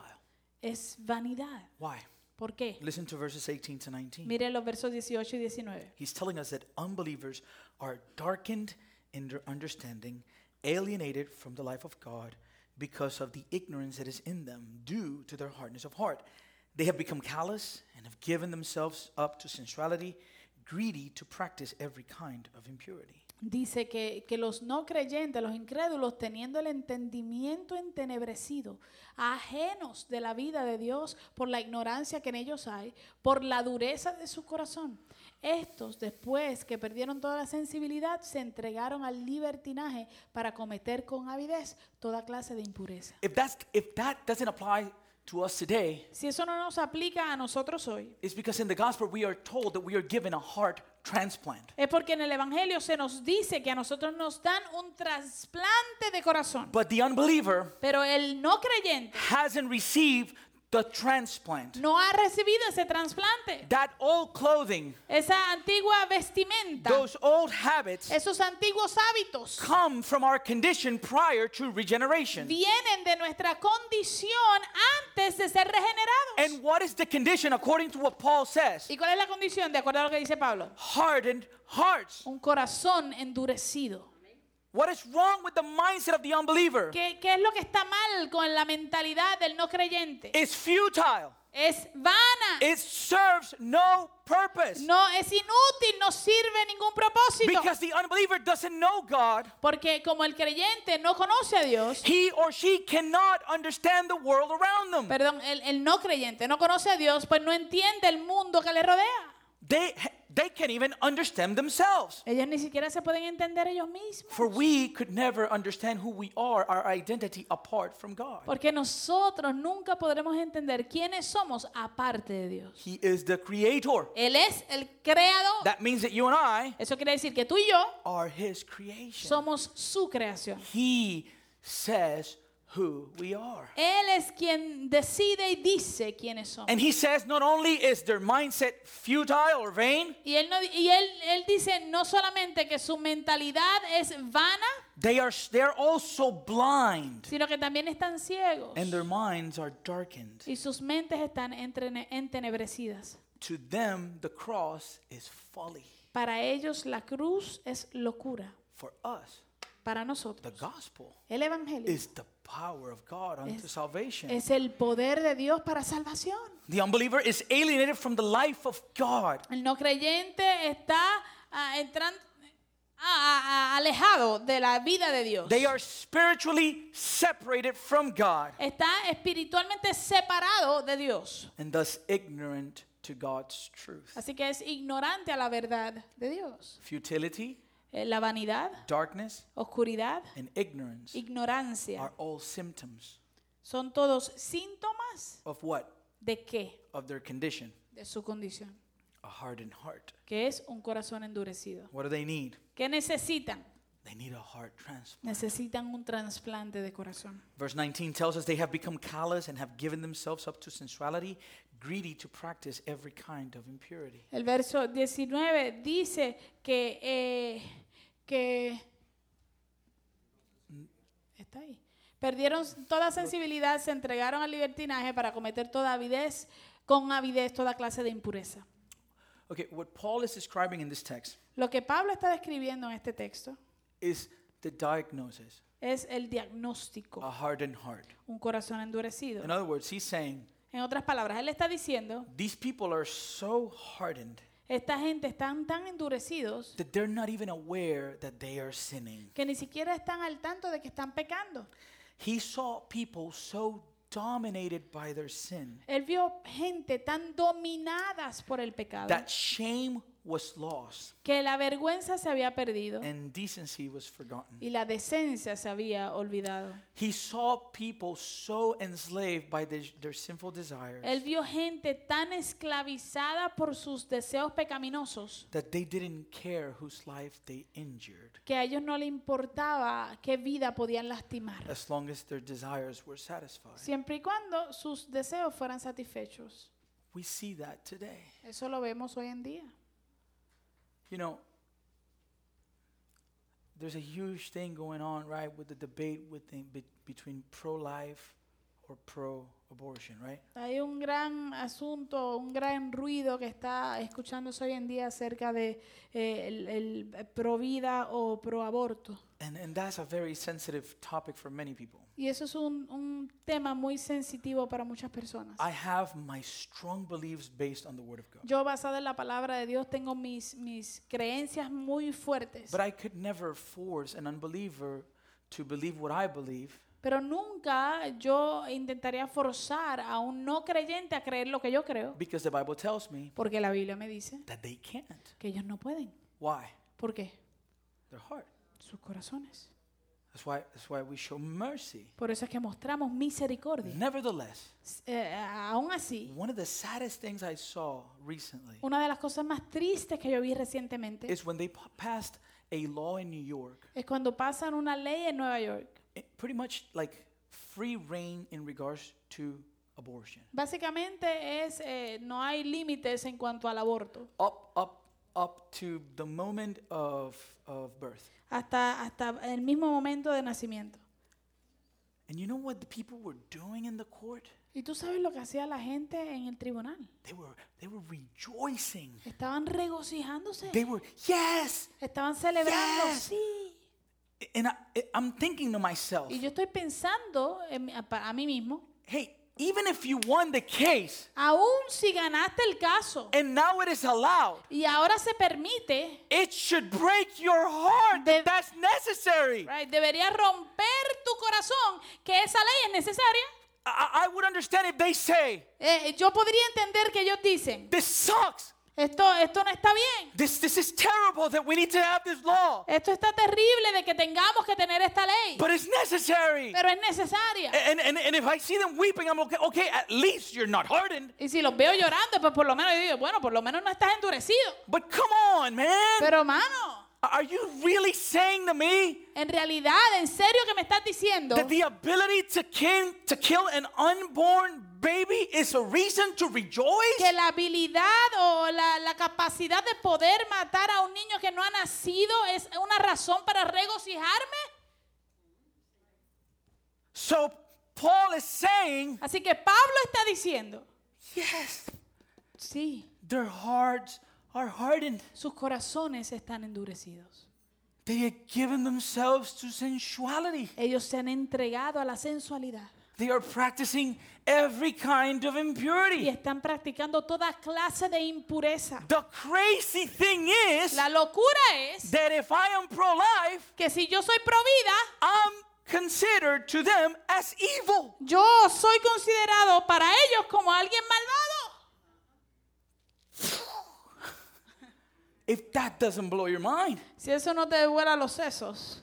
es vanidad. Why? ¿Por qué? Listen to verses 18 to 19. Mire los versos 18 y 19. He's telling us that unbelievers are darkened in their understanding, alienated from the life of God because of the ignorance that is in them due to their hardness of heart. They have become callous and have given themselves up to sensuality, greedy to practice every kind of impurity. Dice que los no creyentes, los incrédulos, teniendo el entendimiento entenebrecido, ajenos de la vida de Dios por la ignorancia que en ellos hay, por la dureza de su corazón. Estos, después que perdieron toda la sensibilidad, se entregaron al libertinaje para cometer con avidez toda clase de impureza. If that doesn't apply to us today, Si eso no nos aplica a nosotros hoy, it's because in the gospel we are told that we are given a heart transplant. es porque en el Evangelio se nos dice que a nosotros nos dan un trasplante de corazón. But the unbeliever Pero el no creyente hasn't received the transplant. no ha recibido ese trasplante. That old clothing, Esa antigua vestimenta, those old habits esos antiguos hábitos come from our condition prior to regeneration. vienen de nuestra condición antes de ser regenerados. And what is the condition according to what Paul says? ¿Y cuál es la condición de acuerdo a lo que dice Pablo? Hardened hearts. Un corazón endurecido. What is wrong with the mindset of the unbeliever? ¿Qué es lo que está mal con la mentalidad del no creyente? It's futile. Es vana. It serves no purpose. No, es inútil, no sirve ningún propósito. Because the unbeliever doesn't know God, Porque como el creyente no conoce a Dios, he or she cannot understand the world around them. perdón, el no creyente no conoce a Dios, pues no entiende el mundo que le rodea. They can't even understand themselves. Ellos ni siquiera se pueden entender ellos mismos. For we could never understand who we are, our identity apart from God. Porque nosotros nunca podremos entender quiénes somos aparte de Dios. He is the creator. Él es el creador. That means that you and I Eso quiere decir que tú y yo are his creation. somos su creación. He says who we are. Él es quien decide y dice quiénes somos. And he says not only is their mindset futile or vain, Y él dice no solamente que su mentalidad es vana, they're also blind, sino que también están ciegos. and their minds are darkened. Y sus mentes están entenebrecidas. To them the cross is folly. Para ellos la cruz es locura. For us, Para the nosotros gospel el evangelio is the power of God unto salvation. es el poder de Dios para salvación. The unbeliever is alienated from the life of God. El no creyente está alejado de la vida de Dios. They are spiritually separated from God Está espiritualmente separado de Dios. and thus ignorant to God's truth. Así que es ignorante a la verdad de Dios. Futility, La vanidad, darkness, oscuridad, and ignorance ignorancia are all symptoms son todos síntomas of what? de qué? Of their condition, De su condición, a hardened heart. que es un corazón endurecido. What do they need? ¿Qué necesitan? They need a heart transplant. Necesitan un trasplante de corazón. Verse 19 tells us they have become callous and have given themselves up to sensuality, greedy to practice every kind of impurity. El verso 19 dice que está ahí. Perdieron toda sensibilidad, se entregaron al libertinaje para cometer con avidez toda clase de impureza. Okay, what Paul is describing in this text Lo que Pablo está describiendo en este texto is the diagnosis, es el diagnóstico, a hardened heart. un corazón endurecido. In other words, he's saying, En otras palabras, él está diciendo, these people are so hardened esta gente están tan endurecidos that they're not even aware that they are sinning. que ni siquiera están al tanto de que están pecando. He saw people so dominated by their sin Él vio gente tan dominadas por el pecado that shame was lost que la vergüenza se había perdido and decency was forgotten. y la decencia se había olvidado. He saw people so enslaved by their sinful desires Él vio gente tan esclavizada por sus deseos pecaminosos that they didn't care whose life they injured que a ellos no les importaba qué vida podían lastimar, as long as their desires were satisfied. siempre y cuando sus deseos fueran satisfechos. We see that today. Eso lo vemos hoy en día. You know, there's a huge thing going on, right, with the debate between pro-life or pro-abortion, right? Hay un gran asunto, un gran ruido que está escuchándose hoy en día acerca de el pro vida o pro aborto. And that's a very sensitive topic for many people. Y eso es un tema muy sensitivo para muchas personas. I have my strong beliefs based on the Word of God. Yo, basado en la palabra de Dios, tengo mis creencias muy fuertes. But I could never force an unbeliever to believe what I believe Pero nunca yo intentaría forzar a un no creyente a creer lo que yo creo, because the Bible tells me porque la Biblia me dice that they can't. que ellos no pueden. Why? ¿Por qué? Their heart. Sus corazones. That's why we show mercy. Por eso es que mostramos misericordia. Nevertheless, Aún así, one of the saddest things I saw recently una de las cosas más tristes que yo vi recientemente is when they passed a law in New York, es cuando pasan una ley en Nueva York. pretty much like free reign in regards to abortion. Básicamente es no hay límites en cuanto al aborto. Up to the moment of birth. Hasta el mismo momento de nacimiento. And you know what the people were doing in the court? ¿Y tú sabes lo que hacía la gente en el tribunal? They were rejoicing. Estaban regocijándose. They were, yes! Estaban celebrando. Yes. Sí. And I'm thinking to myself, Y yo estoy pensando a mí mismo, hey, even if you won the case aún si ganaste el caso and now it is allowed, y ahora se permite, it should break your heart that that's necessary. right, debería romper tu corazón que esa ley es necesaria. I would understand if they say, Yo podría entender que ellos dicen, this sucks. esto no está bien. This is terrible that we need to have this law. Esto está terrible de que tengamos que tener esta ley. But it's necessary. Pero es necesaria. And if I see them weeping, I'm okay, at least you're not hardened. Y si los veo llorando, pues por lo menos yo digo, bueno, por lo menos no estás endurecido. But come on, man. Pero hermano, Are you really saying to me en realidad, en serio que me estás diciendo that the ability to kill an unborn baby is a reason to rejoice? que la habilidad o la capacidad de poder matar a un niño que no ha nacido es una razón para regocijarme? So Paul is saying, Así que Pablo está diciendo, yes, sí, their hearts are hardened. sus corazones están endurecidos. They have given themselves to sensuality. Ellos se han entregado a la sensualidad They are practicing every kind of y impurity. están practicando toda clase de impureza. The crazy thing is La locura es that if I am pro-life, que si yo soy pro vida, I'm considered to them as evil. yo soy considerado para ellos como alguien malvado. If that doesn't blow your mind. Si eso no te vuela los sesos.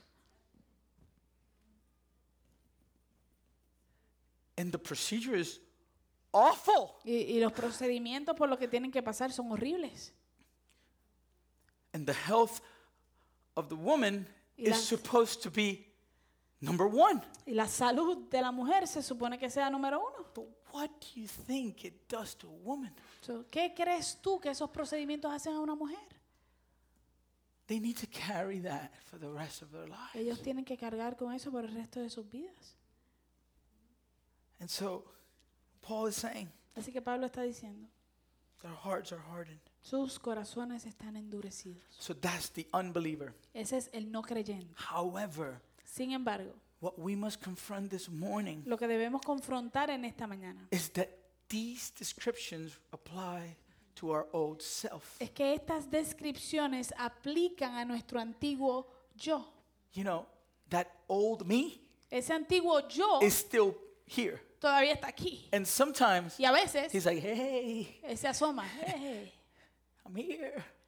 And the procedure is awful. Y los procedimientos por los que tienen que pasar son horribles. And the health of the woman Y la- is supposed to be number one. Y la salud de la mujer se supone que sea número uno. But what do you think it does to a woman? So, ¿qué crees tú que esos procedimientos hacen a una mujer? They need to carry that for the rest of their life. Ellos tienen que cargar con eso por el resto de sus vidas. And so Paul is saying Así que Pablo está diciendo, their hearts are hardened. sus corazones están endurecidos. So that's the unbeliever. Ese es el no creyente. However, Sin embargo, what we must confront this morning lo que debemos confrontar en esta mañana is that these descriptions apply to our old self. es que estas descripciones aplican a nuestro antiguo yo. You know, that old me Ese antiguo yo is still here. todavía está aquí. And sometimes Y a veces he's like, hey, se asoma. "Hey, I'm here.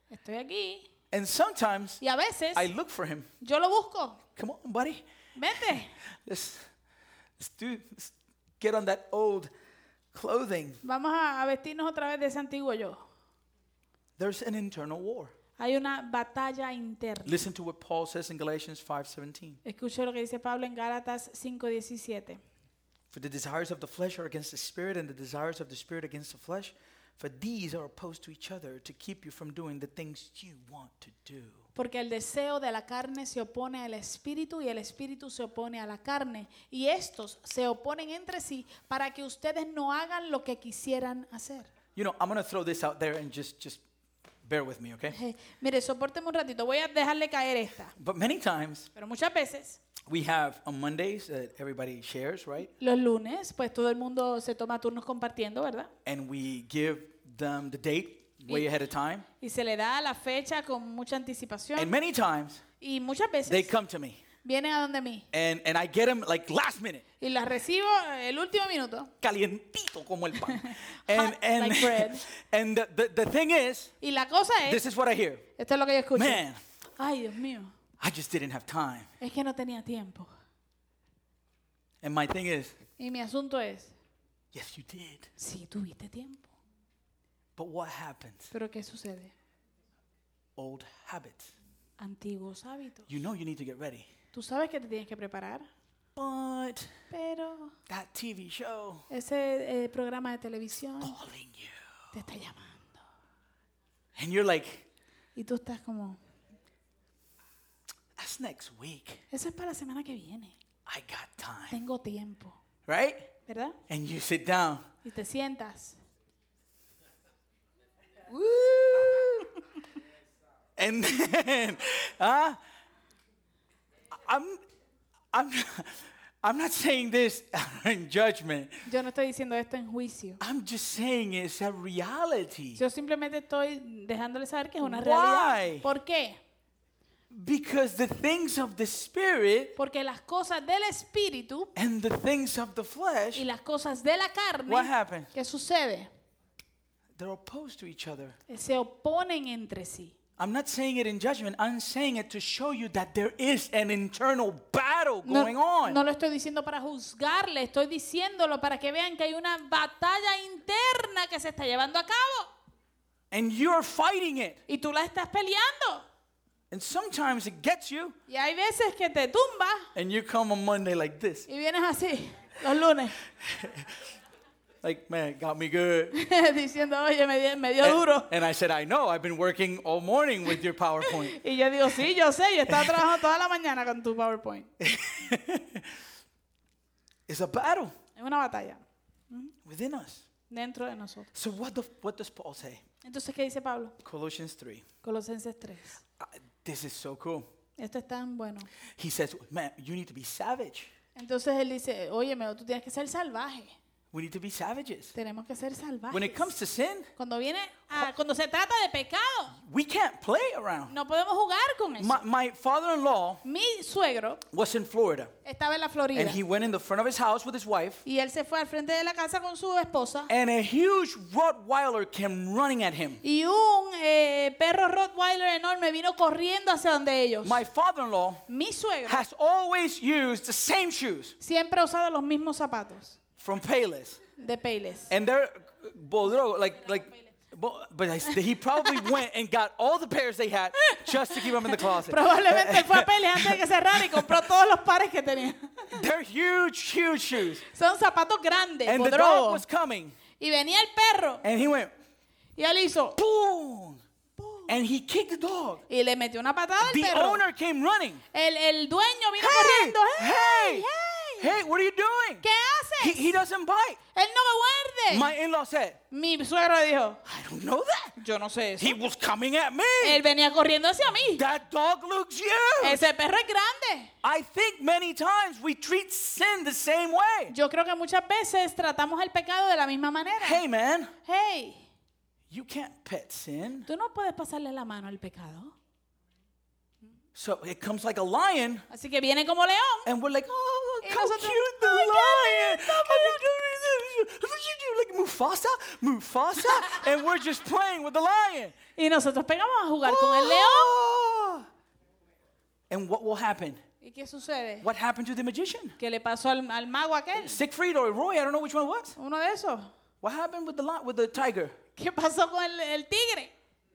Estoy aquí. And sometimes Y a veces I look for him. yo lo busco. Come on, buddy. Vete. Let's get on that old clothing. Vamos a vestirnos otra vez de ese antiguo yo. There's an internal war. Hay una batalla interna. Listen to what Paul says in Galatians 5:17. Escuche lo que dice Pablo en Gálatas 5:17. For the desires of the flesh are against the spirit, and the desires of the spirit against the flesh. For these are opposed to each other to keep you from doing the things you want to do. Porque el deseo de la carne se opone al espíritu y el espíritu se opone a la carne. Y estos se oponen entre sí para que ustedes no hagan lo que quisieran hacer. You know, I'm going to throw this out there and just bear with me, okay? Mire, sopórteme un ratito. Voy a dejarle caer esta. But many times Pero muchas veces, we have on Mondays that everybody shares, right? los lunes, pues todo el mundo se toma turnos compartiendo, ¿verdad? And we give them the date way ahead of time. Y se le da la fecha con mucha And anticipación. many times Y muchas they veces come to me vienen a donde mí. and I get them like last minute. Y las recibo el último minuto. Calientito como el pan. Hot like bread. And the thing is, Y la cosa this es, is what I hear. esto es lo que yo escucho. Man, Ay, Dios mío, I just didn't have time. es que no tenía tiempo. And my thing is, Y mi asunto es, yes, you did. sí, tuviste tiempo. But what happens? Pero ¿qué sucede? Old habits. Antiguos hábitos. You know you need to get ready. Tú sabes que te tienes que preparar, But pero that TV show ese programa de televisión calling you. te está llamando. And you're like, Y tú estás como, that's next week. eso es para la semana que viene. I got time. Tengo tiempo, Right? ¿verdad? And you sit down. Y te sientas. Woo! And then, I'm not saying this in judgment. Yo no estoy diciendo esto en juicio. I'm just saying it's a reality. Yo simplemente estoy dejándole saber que es una Why? realidad. ¿Por qué? Because the things of the spirit Porque las cosas del espíritu and the things of the y flesh, las cosas de la what carne, happens? ¿qué sucede? They're opposed to each other. Se oponen entre sí. I'm not saying it in judgment. I'm saying it to show you that there is an internal battle No, going on. no lo estoy diciendo para juzgarle, estoy diciéndolo para que vean que hay una batalla interna que se está llevando a cabo. And you're fighting it. Y tú la estás peleando. And sometimes it gets you. Y hay veces que te tumba And you come on Monday like this. y vienes así los lunes Like, man, it got me good. diciendo, oye, me dio duro. And I said, I know. I've been working all morning with your PowerPoint. Y yo digo, sí, yo sé, yo estaba trabajando toda la mañana con tu PowerPoint. It's a battle Es una batalla within us. dentro de nosotros. So what does Paul say? Entonces, ¿qué dice Pablo? Colossians 3. Colosenses 3. This is so cool. Esto es tan bueno. He says, man, you need to be savage. Entonces él dice, oye, tú tienes que ser salvaje. We need to be savages. Tenemos que ser salvajes. When it comes to sin, Cuando se trata de pecado, we can't play around. no podemos jugar con eso. My father-in-law Mi suegro was in Florida, estaba en la Florida and he went in the front of his house with his wife, y él se fue al frente de la casa con su esposa and a huge Rottweiler came running at him. y un perro Rottweiler enorme vino corriendo hacia donde ellos. My father-in-law Mi suegro has always used the same shoes siempre ha usado los mismos zapatos from Payless, de Payless. and they're Bodro, but he probably went and got all the pairs they had just to keep them in the closet. Probablemente fue a Payless antes de que cerrara y compró todos los pares que tenía. They're huge, huge shoes. Son zapatos grandes, And the dog bodrogos. was coming, Y venía el perro and he went, y él hizo boom, and he kicked the dog. y le metió una patada al The perro. owner came running. El dueño vino Hey, corriendo. hey, Hey, hey, what are you doing? ¿qué haces? He doesn't bite. Él no me muerde. My in-law said, Mi suegro dijo, I don't know that. yo no sé eso. He was coming at me. Él venía corriendo hacia mí. That dog looks huge. Ese perro es grande. I think many times we treat sin the same way. Yo creo que muchas veces tratamos el pecado de la misma manera. Hey, man, Hey, you can't pet sin. tú no puedes pasarle la mano al pecado. So it comes like a lion, Así que viene como león. and we're like, oh, Y how nosotros, cute the "Ay, qué lion. lindo, Like Mufasa, Mufasa, and we're just playing with the lion. Y nosotros pegamos a jugar con el león. Ah! And what will happen? ¿Y qué sucede? What happened to the magician? ¿Qué le pasó al mago aquel? Siegfried or Roy, I don't know which one it was. Uno de esos. What happened with the tiger? ¿Qué pasó con el tigre?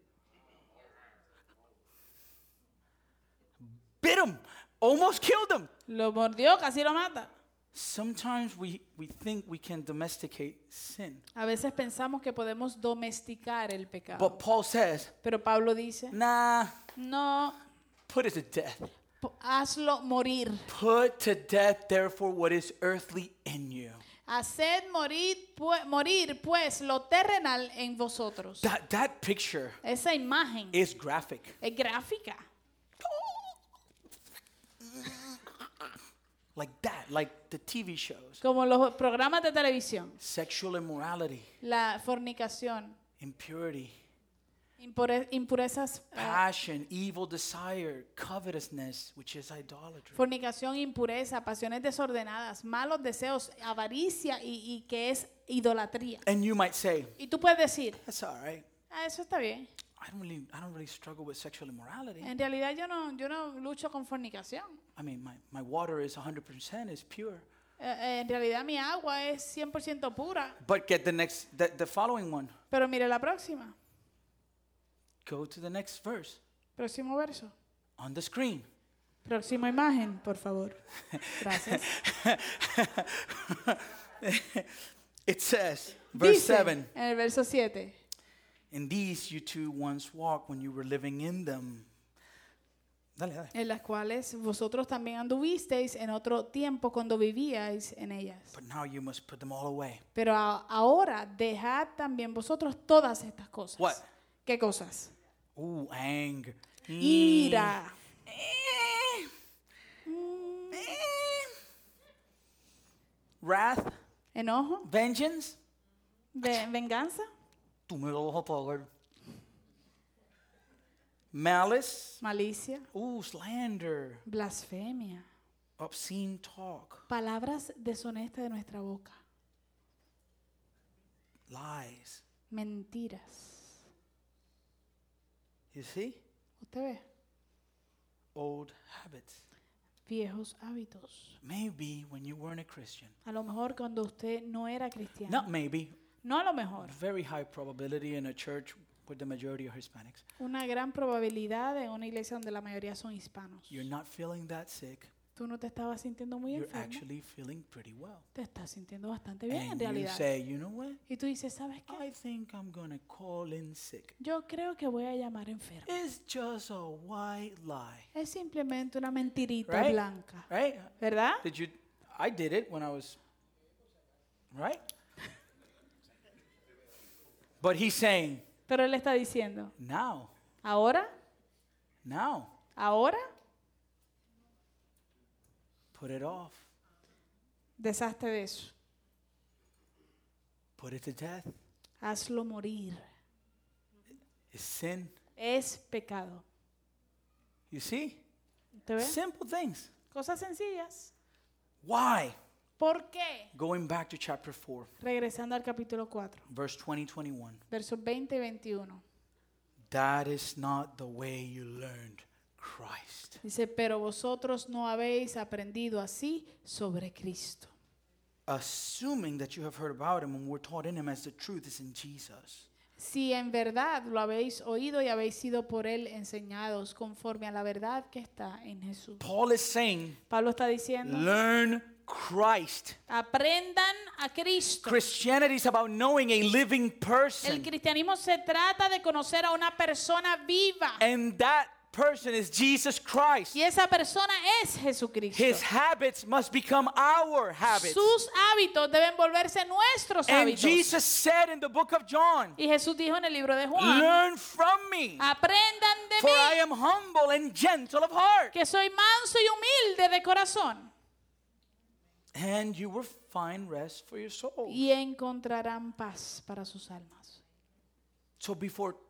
Bit him, almost killed him. Lo mordió, casi lo mata. Sometimes we think we can domesticate sin. A veces pensamos que podemos domesticar el pecado. But Paul says, Pero Pablo dice, nah, no, put it to death. hazlo morir. Put to death, therefore, what is earthly in you. Haced morir pues lo terrenal en vosotros. That picture Esa imagen is graphic. es gráfica. Like that, like the TV shows. Como los programas de televisión. Sexual immorality, La fornicación, impurity, impurezas, passion, evil desire, covetousness, which is idolatry. fornicación, impureza, pasiones desordenadas, malos deseos, avaricia y que es idolatría. And you might say, Y tú puedes decir, that's all right. eso está bien. I don't really struggle with sexual immorality. En realidad yo no lucho con fornicación. I mean, my water is 100% is pure. En realidad mi agua es 100% pura. But get the following one. Pero mire la próxima. Go to the next verse Próximo verso. on the screen. Próxima imagen, por favor. Gracias. It says, verse Dice 7. en el verso 7. In these you too once walked when you were living in them. Dale. En las cuales vosotros también anduvisteis en otro tiempo cuando vivíais en ellas. But now you must put them all away. Pero ahora dejad también vosotros todas estas cosas. What? ¿Qué cosas? Anger. Ira, Wrath. enojo, Vengeance. venganza, Tú me lo vas a pagar. Malice. malicia, Slander. blasfemia, Obscene talk. palabras deshonestas de nuestra boca, Lies. mentiras. You see? ¿Usted ve? Old habits. Viejos hábitos. Maybe when you weren't a Christian. A lo mejor cuando usted no era cristiano. Not maybe. No a lo mejor. Very high probability in a church with the majority of Hispanics. Una gran probabilidad en una iglesia donde la mayoría son hispanos. You're not feeling that sick. Tú no te estabas sintiendo muy You're enfermo. actually feeling pretty well. Te estás sintiendo bastante bien en And you realidad. say, you know what? Y tú dices, ¿sabes qué? I think I'm going to call in sick. Yo creo que voy a llamar enfermo. It's just a white lie. Es simplemente una mentirita Right? blanca. Right? ¿Verdad? I did it when I was, right? But he's saying, Pero él está diciendo, now, ahora, put it off. deshazte de eso. Put it to death. Hazlo morir. It's sin. Es pecado. You see? ¿Te ves? Simple things. Cosas sencillas. Why? ¿Por qué? Going back to chapter 4, Regresando al capítulo 4, verse 20-21. versos 20 y 21. That is not the way you learned Christ. Dice, pero vosotros no habéis aprendido así sobre Cristo. Assuming that you have heard about him and were taught in him as the truth is in Jesus. Si en verdad lo habéis oído y habéis sido por él enseñados conforme a la verdad que está en Jesús. Paul is saying, Pablo está diciendo, learn Christ. aprendan a Cristo. Christianity is about knowing a living El person. cristianismo se trata de conocer a una persona viva. And that person is Jesus Christ. Y esa persona es Jesucristo. His habits must become our habits. Sus hábitos deben volverse nuestros And hábitos. Jesus said in the book of John, Y Jesús dijo en el libro de Juan, learn from me, aprendan de for I mí, am humble and gentle of heart. que soy manso y humilde de corazón. And you will find rest for your soul. Y encontrarán paz para sus almas. So before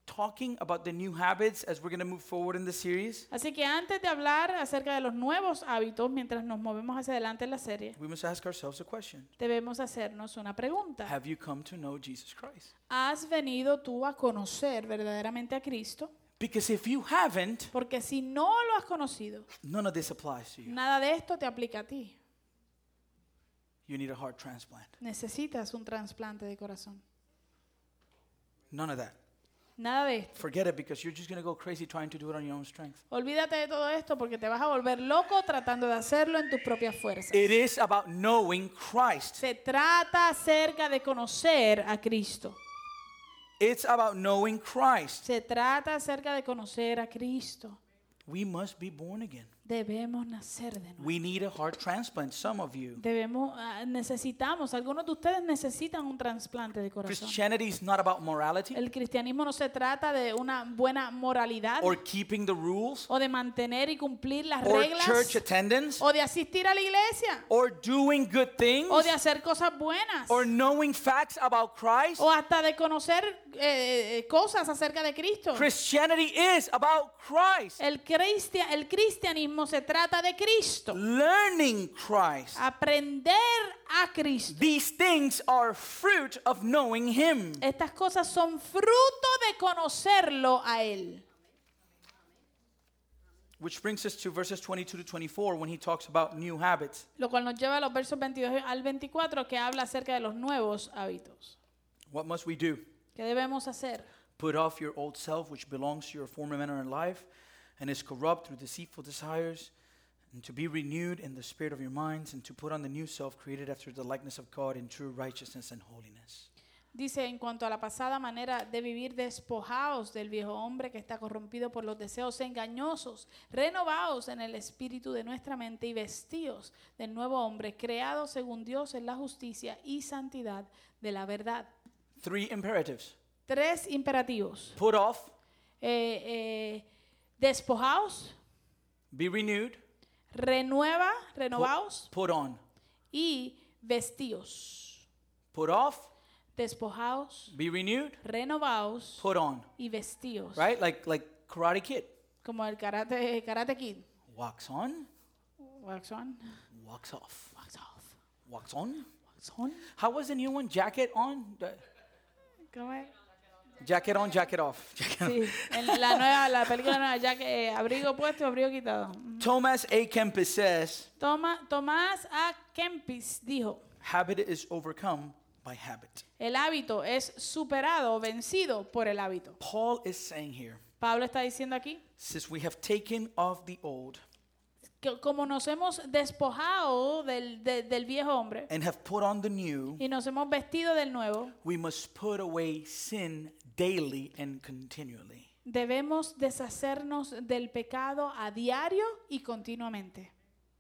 talking about the new habits as we're going to move forward in the series, Así que antes de hablar acerca de los nuevos hábitos, mientras nos movemos hacia adelante en la serie, we must ask ourselves a question. debemos hacernos una pregunta. Have you come to know Jesus Christ? ¿Has venido tú a conocer verdaderamente a Cristo? Because if you haven't, Porque si no lo has conocido, none of this applies to you. nada de esto te aplica a ti. You need a heart transplant. Necesitas un trasplante de corazón. None of that. Nada de esto. Forget it because you're just going to go crazy trying to do it on your own strength. Olvídate de todo esto porque te vas a volver loco tratando de hacerlo en tus propias fuerzas. It is about knowing Christ. Se trata acerca de conocer a Cristo. It's about knowing Christ. Se trata acerca de conocer a Cristo. We must be born again. Debemos nacer de nuevo. We need a heart transplant, some of you. Necesitamos, algunos de ustedes necesitan un trasplante de corazón. Christianity is not about morality El cristianismo no se trata de una buena moralidad or keeping the rules o de mantener y cumplir las or reglas church attendance o de asistir a la iglesia or doing good things o de hacer cosas buenas or knowing facts about Christ. o hasta de conocer cosas acerca de Cristo. Christianity is about Christ. El cristianismo se trata de Cristo. Learning Christ. Aprender a Cristo. These things are fruit of knowing Him. Estas cosas son fruto de conocerlo a Él. Which brings us to verses 22 to 24 when he talks about new habits. Lo cual nos lleva a los versos 22 al 24 que habla acerca de los nuevos hábitos. What must we do? ¿Qué debemos hacer? Put off your old self, which belongs to your former manner in life, and is corrupt through deceitful desires, and to be renewed in the spirit of your minds, and to put on the new self, created after the likeness of God in true righteousness and holiness. Dice, en cuanto a la pasada manera de vivir, despojaos del viejo hombre que está corrompido por los deseos engañosos, renovaos en el espíritu de nuestra mente y vestíos del nuevo hombre, creado según Dios en la justicia y santidad de la verdad. 3 imperatives. 3 imperativos. Put off, Despojaos, be renewed, renovaos put on. y vestíos. Put off, Despojaos, be renewed, renovaos put on. y vestíos. Right? Like Karate Kid. Como el karate Kid. Walks on, Wax on, walks off. wax off, Walks on. wax on. How was the new one? Jacket on? ¿Cómo es? Jacket on, jacket off. Sí, en la película nueva, ya que abrigo puesto, abrigo quitado. Thomas A. Kempis says, Tomás A. Kempis dijo, habit is overcome by habit. el hábito es superado o vencido por el hábito. Paul is saying here, Pablo está diciendo aquí, since we have taken off the old que como nos hemos despojado del viejo hombre and have put on the new, y nos hemos vestido del nuevo, we must put away sin daily and continually. debemos deshacernos del pecado a diario y continuamente.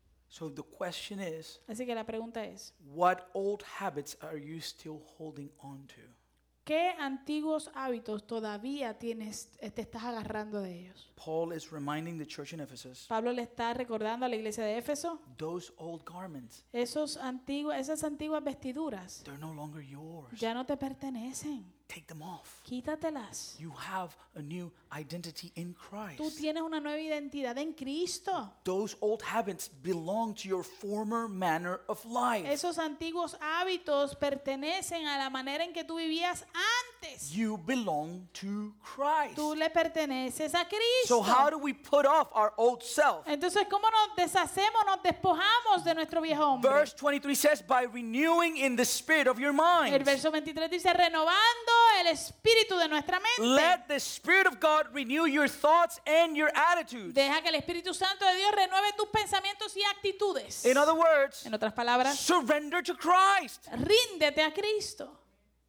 So the question is, Así que la pregunta es, what old habits are you still holding on to? ¿qué antiguos hábitos todavía te estás agarrando de ellos? Paul is reminding the church in Ephesus, Pablo le está recordando a la iglesia de Éfeso those old garments, esas antiguas vestiduras they're no longer yours. ya no te pertenecen. Take them off. Quítatelas. You have a new identity in Tú Christ. tienes una nueva identidad en Cristo. Those old habits belong to your former manner of life. Esos antiguos hábitos pertenecen a la manera en que tú vivías antes. You belong to Christ. Tú le perteneces a Cristo. So how do we put off our old self? Entonces, ¿cómo nos deshacemos, nos despojamos de nuestro viejo hombre? Verse 23 says, by renewing in the spirit of your El mind. verso 23 dice, renovando el espíritu de nuestra mente. Let the Spirit of God renew your thoughts and your attitudes. Deja que el Espíritu Santo de Dios renueve tus pensamientos y actitudes. In other words, En otras palabras, surrender to Christ. ríndete a Cristo.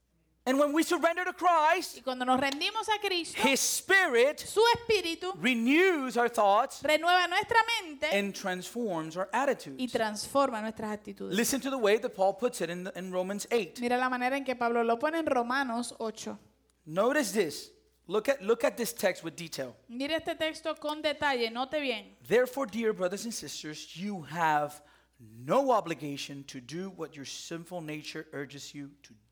And when we surrender to Y Christ, cuando nos rendimos a Cristo, His Spirit su espíritu renews our thoughts renueva nuestra mente and transforms our y attitudes. transforma nuestras actitudes. Listen to the way that Paul puts it in Romans 8. Mira la manera en que Pablo lo pone en Romanos 8. Notice this. Look at this text with detail. Mira este texto con detalle, note bien. Therefore, dear brothers and sisters, you have no obligation to do what your sinful nature urges you to do.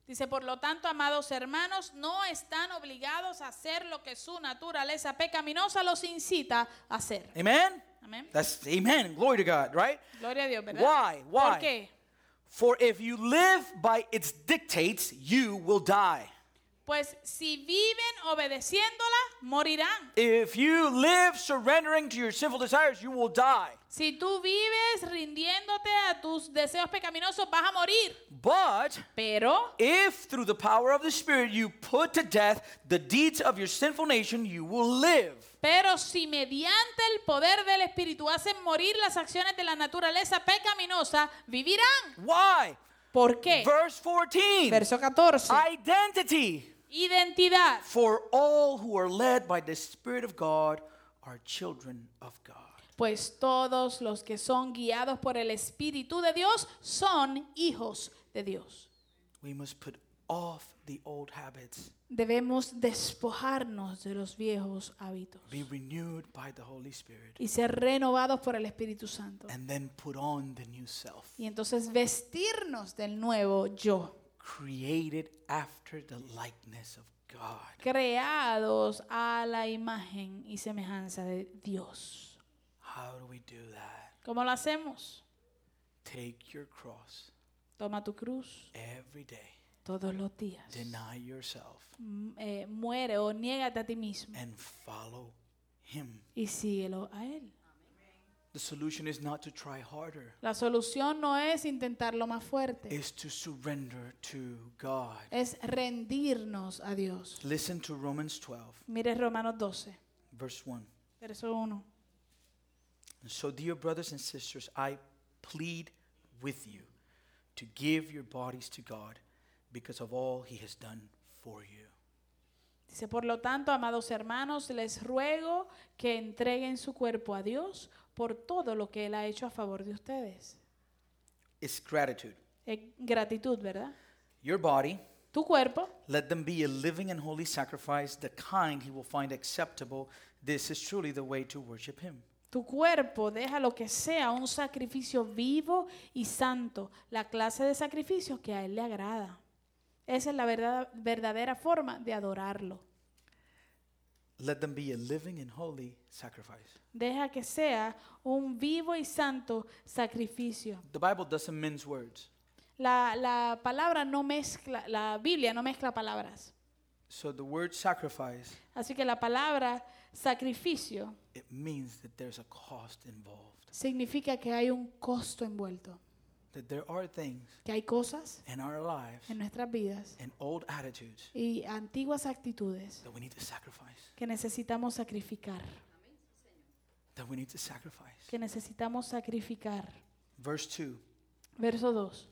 Dice, por lo tanto, amados hermanos, no están obligados a hacer lo que su naturaleza pecaminosa los incita a hacer. Amen? Amén. That's amen. Glory to God, right? Gloria a Dios, ¿verdad? Why? ¿Por Why? qué? For if you live by its dictates, you will die. Pues si viven obedeciéndola, morirán. If you live surrendering to your sinful desires, you will die. Si tú vives rindiéndote a tus deseos pecaminosos, vas a morir. But Pero if through the power of the Spirit you put to death the deeds of your sinful nation, you will live. si mediante el poder del Espíritu hacen morir las acciones de la naturaleza pecaminosa, vivirán. Why? ¿Por qué? Verse 14. Verso 14. Identity. Identidad. For all who are led by the Spirit of God are children of God. Pues todos los que son guiados por el Espíritu de Dios son hijos de Dios. We must put off the old habits. Debemos despojarnos de los viejos hábitos Be renewed by the Holy Spirit. y ser renovados por el Espíritu Santo. And then put on the new self. Y entonces vestirnos del nuevo yo, Created after the likeness of God. creados a la imagen y semejanza de Dios. How do we do that? ¿Cómo lo hacemos? Take your cross Toma tu cruz every day. todos los días. Deny yourself Muere o niégate a ti mismo and follow Him. y síguelo a Él. The solution is not to try harder. La solución no es intentarlo más fuerte, It's to surrender to God. es rendirnos a Dios. Listen to Romans 12, Mire Romanos 12, verse 1. verso 1. And so, dear brothers and sisters, I plead with you to give your bodies to God because of all He has done for you. Dice, por lo tanto, amados hermanos, les ruego que entreguen su cuerpo a Dios por todo lo que Él ha hecho a favor de ustedes. It's gratitude. Gratitud, ¿verdad? Your body, Tu cuerpo, let them be a living and holy sacrifice, the kind He will find acceptable. This is truly the way to worship Him. tu cuerpo, déjalo que sea un sacrificio vivo y santo, la clase de sacrificio que a Él le agrada. Esa es la verdadera forma de adorarlo. Let them be a living and holy sacrifice. Deja que sea un vivo y santo sacrificio. The Bible doesn't mince words. La palabra no mezcla, la Biblia no mezcla palabras. So the word sacrifice, Así que la palabra sacrificio it means that there's a cost involved. significa que hay un costo envuelto, That there are things que hay cosas in our lives en nuestras vidas and old attitudes y antiguas actitudes that we need to sacrifice. que necesitamos sacrificar, That we need to sacrifice. que necesitamos sacrificar. Verse 2. Verso 2.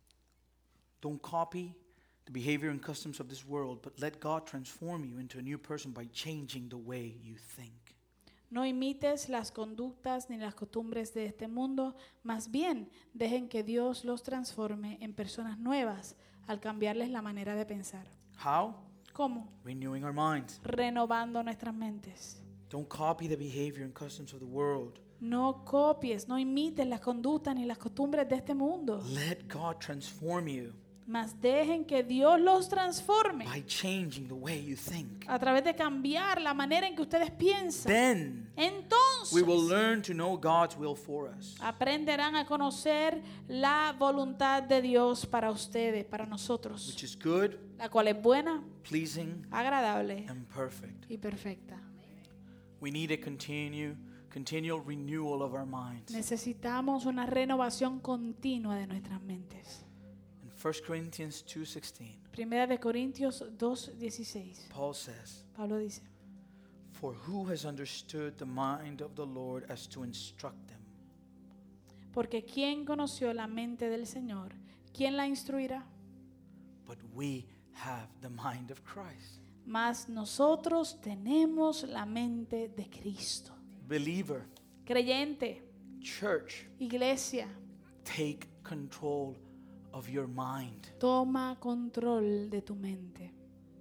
Don't copy the behavior and customs of this world, but let God transform you into a new person by changing the way you think. No imites las conductas ni las costumbres de este mundo, más bien dejen que Dios los transforme en personas nuevas al cambiarles la manera de pensar. How? ¿Cómo? Renewing our minds. Renovando nuestras mentes. Don't copy the behavior and customs of the world. No copies, no imites las conductas ni las costumbres de este mundo, Let God transform you más dejen que Dios los transforme by changing the way you think. a través de cambiar la manera en que ustedes piensan. Then Entonces we will learn to know God's will for us, aprenderán a conocer la voluntad de Dios para ustedes, para nosotros, which is good, la cual es buena, pleasing, agradable and perfect. y perfecta. We need a continual renewal of our minds. Necesitamos una renovación continua de nuestras mentes. In 1 Corinthians 2:16, Primera de Corintios 2:16. Paul says, Pablo dice, "For who has understood the mind of the Lord as to instruct them? porque ¿quién conoció la mente del Señor? ¿Quién la instruirá? But we have the mind of Christ." Mas nosotros tenemos la mente de Cristo. Believer, Creyente, church, iglesia, take control of your mind. toma control de tu mente.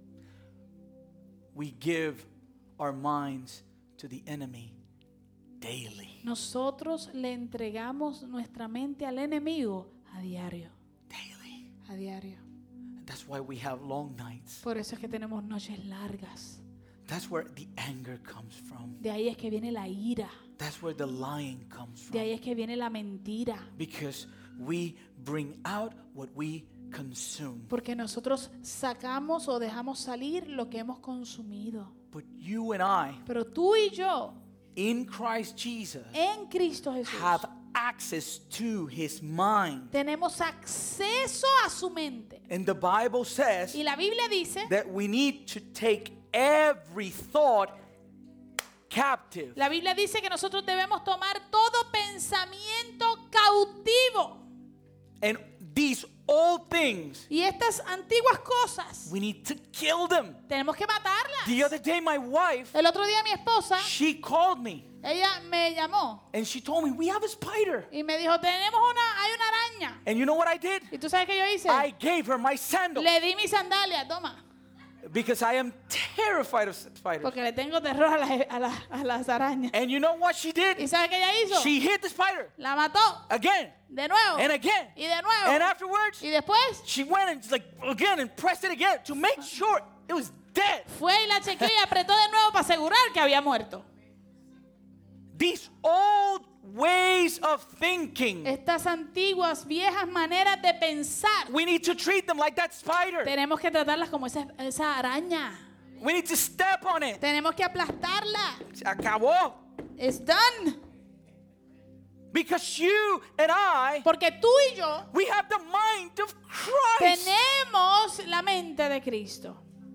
We give our minds to the enemy daily. Nosotros le entregamos nuestra mente al enemigo a diario, Daily. a diario. That's why we have long nights. Por eso es que tenemos noches largas. That's where the anger comes from. De ahí es que viene la ira. That's where the lying comes De ahí from. es que viene la mentira. Because we bring out what we consume. Porque nosotros sacamos o dejamos salir lo que hemos consumido. But you and I, Pero tú y yo, in Christ Jesus, en Cristo Jesús, have access to his mind. tenemos acceso a su mente. And the Bible says Y la Biblia dice, that we need to take every thought captive. la Biblia dice que nosotros debemos tomar todo pensamiento cautivo. And these old things, Y estas antiguas cosas, we need to kill them. tenemos que matarlas. The other day, my wife, El otro día mi esposa, she called me ella me llamó and she told me, we have a spider. y me dijo, hay una araña. And you know what I did? ¿Y tú sabes qué yo hice? I gave her my sandal Le di mi sandalia, toma. because I am terrified of spiders. Porque le tengo terror a las arañas. And you know what she did? ¿Y sabes qué ella hizo? She hit the spider La mató. again De nuevo. and again. Y de nuevo. And afterwards, Y después she went and like again and pressed it again to make sure it was dead. fue y la chequeó y apretó de nuevo para asegurar que había muerto. These old ways of thinking, Estas antiguas, viejas maneras de pensar, we need to treat them like that spider. tenemos que tratarlas como esa araña. We need to step on it. Tenemos que aplastarla. Se acabó. It's done. Because you and I, Porque tú y yo we have the mind of Christ. tenemos la mente de Cristo.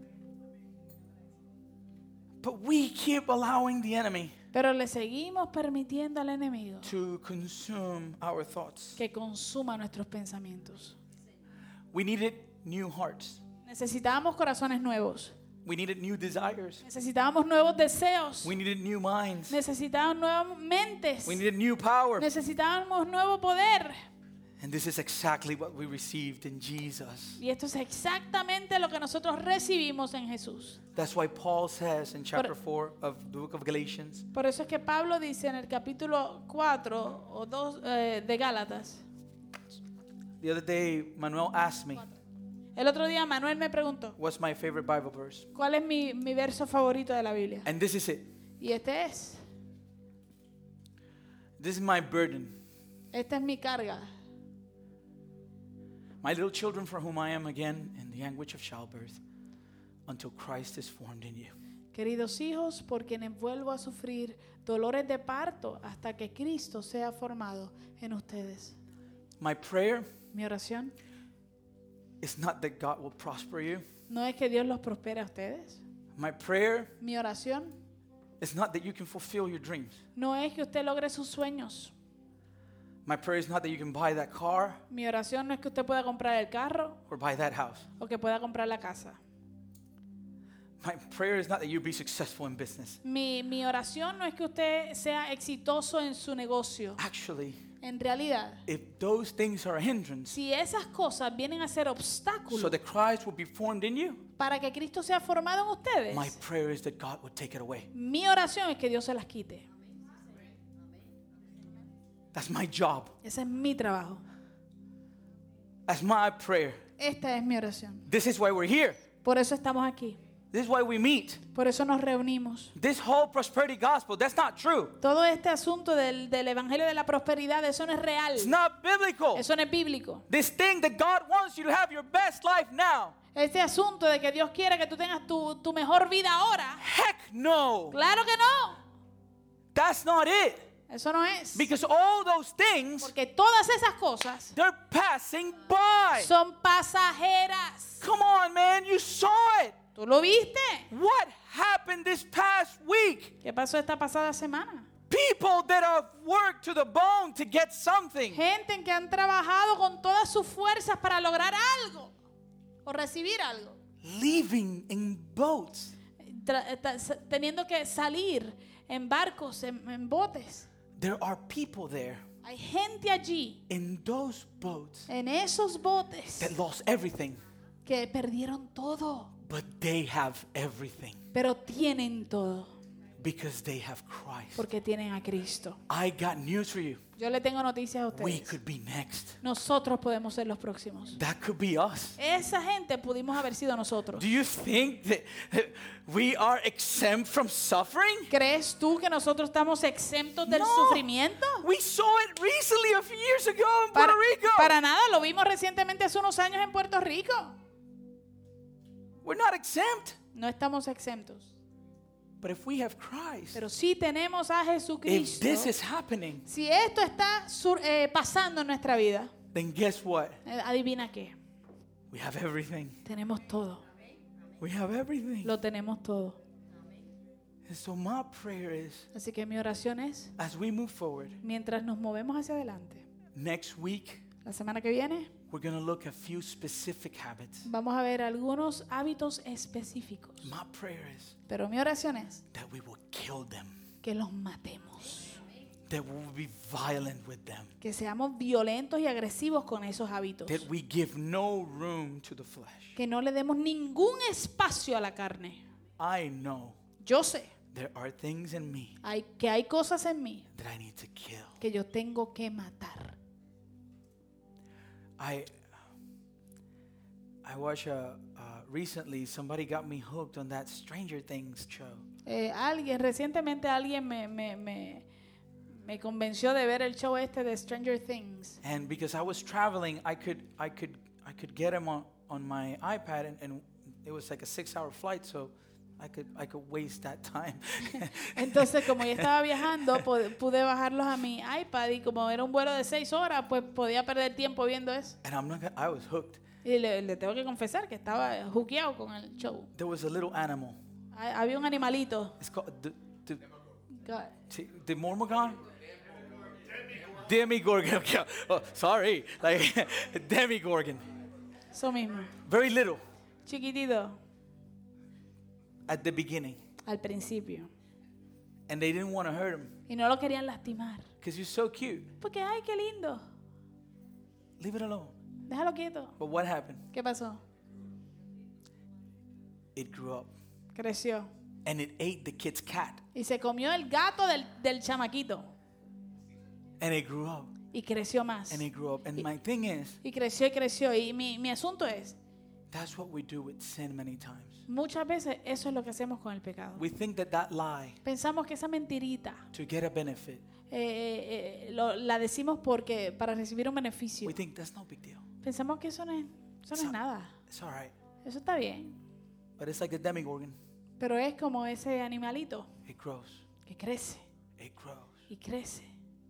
But we keep allowing the enemy Pero le seguimos permitiendo al enemigo to consume our thoughts. que consuma nuestros pensamientos. We needed new hearts. Necesitábamos corazones nuevos. We needed new desires. Necesitábamos nuevos deseos. We needed new minds. Necesitábamos nuevas mentes. We needed new power. Necesitábamos nuevo poder. And this is exactly what we received in Jesus. Y esto es exactamente lo que nosotros recibimos en Jesús. That's why Paul says in chapter 4 of the book of Galatians, Por eso es que Pablo dice en el capítulo 4 o 2 de Gálatas. the other day Manuel asked me, El otro día Manuel me preguntó, what's my favorite Bible verse? ¿cuál es mi verso favorito de la Biblia? And this is it. Y este es. This is my burden. Esta es mi carga. My little children, for whom I am again in the anguish of childbirth, until Christ is formed in you. Queridos hijos, por quienes vuelvo a sufrir dolores de parto hasta que Cristo sea formado en ustedes. My prayer Mi oración is not that God will prosper you. no es que Dios los prospere a ustedes. My prayer Mi oración is not that you can fulfill your dreams. no es que usted logre sus sueños. My prayer is not that you can buy that car Mi oración no es que usted pueda comprar el carro or buy that house. o que pueda comprar la casa. My prayer is not that you be successful in business. Mi oración no es que usted sea exitoso en su negocio. Actually, En realidad, if those things are a hindrance si esas cosas vienen a ser so obstáculos that Christ will be formed in you, para que Cristo sea formado en ustedes, my prayer is that God would take it away. mi oración es que Dios se las quite. That's my job. Ese es mi trabajo. That's my prayer. Esta es mi oración. This is why we're here. Por eso estamos aquí. This is why we meet. Por eso nos reunimos. This whole prosperity gospel, that's not true. Todo este asunto del evangelio de la prosperidad, eso no es real. It's not biblical. Eso no es bíblico. This thing that God wants you to have your best life now. Este asunto de que Dios quiere que tú tengas tu mejor vida ahora. Heck no. Claro que no. That's not it. Eso no es. Because all those things, Porque todas esas cosas they're passing by. son pasajeras. Come on, man. You saw it. ¿Tú lo viste? What happened this past week? ¿Qué pasó esta pasada semana? People that have worked to the bone to get something. Gente en que han trabajado con todas sus fuerzas para lograr algo o recibir algo. Leaving in boats. Teniendo que salir en barcos, en botes. There are people there Hay gente allí, in those boats en esos botes, that lost everything, que perdieron todo, but they have everything. pero tienen todo. Because they have Christ. porque tienen a Cristo. I got news for you. Yo le tengo noticias a We ustedes. could be next. Nosotros podemos ser los próximos. That could be us. Esa gente pudimos haber sido nosotros. Do you think that we are exempt from suffering? ¿Crees tú que nosotros estamos exentos del No. sufrimiento? We saw it recently a few years ago in Puerto Rico. Para nada, lo vimos recientemente hace unos años en Puerto Rico. We're not exempt. No estamos exentos. But if we have Christ, Pero sí tenemos a if Jesucristo. this is happening, Si esto está pasando en nuestra vida, then guess what? adivina qué. We have everything. Tenemos todo. We have everything. Lo tenemos todo. And so my prayer is, Así que mi oración es, as we move forward, mientras nos movemos hacia adelante, next week, la semana que viene, we're going to look at few specific habits. vamos a ver algunos hábitos específicos. My prayer is Pero mi oración es that we will kill them, que los matemos. that we will be violent with them, Que seamos violentos y agresivos con esos hábitos. that we give no room to the flesh. Que no le demos ningún espacio a la carne. I know Yo sé there are things in me que hay cosas en mí that I need to kill. que yo tengo que matar. I watched recently somebody got me hooked on that Stranger Things show. Recientemente alguien me convenció de ver el show este de Stranger Things. And because I was traveling, I could get him on my iPad, and it was like a 6-hour flight, so I could waste that time. Entonces, como yo estaba viajando, pude bajarlos a mi iPad y como era un vuelo de 6 horas, pues podía perder tiempo viendo eso. And I was hooked. Y le tengo que confesar que estaba juqueado con el show. There was a little animal. Había un animalito. It's called God. the Mormogón? Demigorgon. Oh, sorry. Like Demigorgon. Eso mismo. Very little Chiquitito. at the beginning. Al principio. And they didn't want to hurt him Y no lo querían lastimar. because he's so cute. Porque, ay, qué lindo. Leave it alone. Déjalo quieto. But what happened? ¿Qué pasó? It grew up. Creció. And it ate the kid's cat. Y se comió el gato del chamaquito. And it grew up. Y creció más. And it grew up. And my thing is, Y creció y creció. Y mi asunto es, that's what we do with sin many times. muchas veces eso es lo que hacemos con el pecado. We think that lie Pensamos que esa mentirita to get a benefit, la decimos porque para recibir un beneficio. we think that's no big deal. Pensamos que eso no es nada. It's all right. Eso está bien. But it's like the Demigorgon. Pero es como ese animalito It grows. que crece It grows. y crece.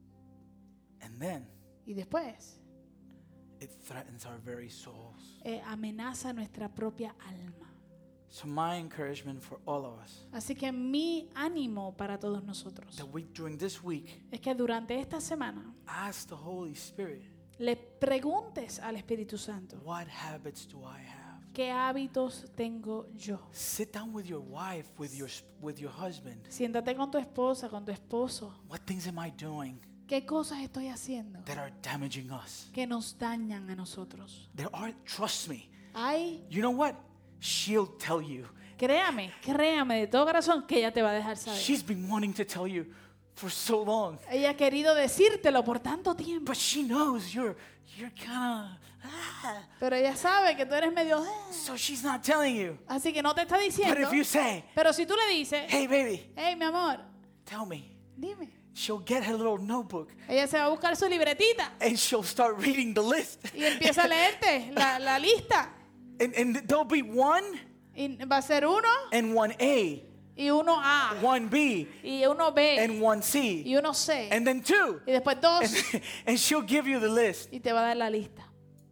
And then Y después it threatens our very souls. amenaza nuestra propia alma. So my encouragement for all of us, Así que mi ánimo para todos nosotros that we during this week es que durante esta semana ask the Holy Spirit, le preguntes al Espíritu Santo, what habits do I have? ¿qué hábitos tengo yo? Sit down with your wife, with your husband. Siéntate con tu esposa, con tu esposo. What things am I doing ¿Qué cosas estoy haciendo that are damaging us? que nos dañan a nosotros? There are, trust me. Ay, You know what? She'll tell you. créame de todo corazón que ella te va a dejar saber. She's been wanting to tell you for so long. Ella ha querido decírtelo por tanto tiempo, But she knows you're kind of, pero ella sabe que tú eres medio... so she's not telling you. Así que no te está But diciendo. if you say, Pero si tú le dices, hey baby, hey, mi amor, tell me, dime. she'll get her little notebook Ella se va a buscar su libretita and she'll start reading the list. y empieza a leerte la lista. And there'll be 1 Y va a ser 1 and 1A, y 1A 1B, y 1B and 1C, y 1C and then 2. y después 2 And she'll give you the list. y te va a dar la lista.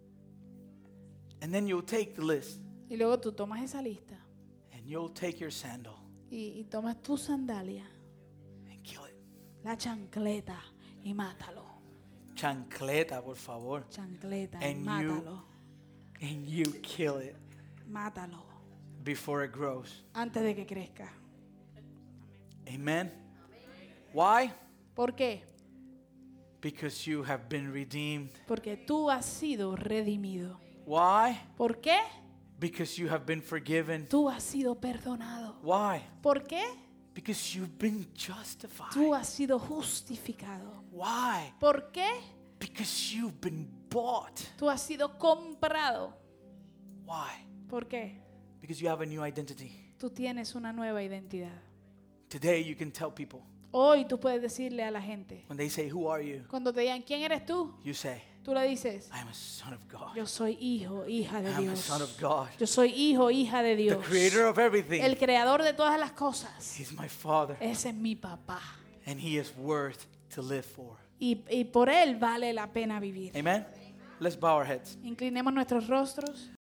And then you'll take the list Y luego tú tomas esa lista and you'll take your sandal y tomas tu sandalia, and kill it. la chancleta y mátalo. Chancleta, por favor. Chancleta y And mátalo. And you kill it Mátalo before it grows. antes de que crezca. Amen. Why? ¿Por qué? Because you have been redeemed. Porque tú has sido redimido. Why? ¿Por qué? Because you have been forgiven. Tú has sido perdonado. Why? ¿Por qué? Because you've been justified. Tú has sido justificado. Why? ¿Por qué? Because you've been bought. Tú has sido comprado. Why? ¿Por qué? Because you have a new identity. Tú tienes una nueva identidad. Today you can tell people, Hoy tú puedes decirle a la gente, when they say, who are you? cuando te digan, ¿quién eres tú? You say, Tú le dices, I am a son of God. yo soy hijo, hija I de am a Dios. son of God. Yo soy hijo, hija de The Dios. creator of everything. El creador de todas las cosas. He's my father. Ese es mi papá. And he is worth to live for. Y por él vale la pena vivir. Amen? Let's bow our heads. Inclinemos nuestros rostros.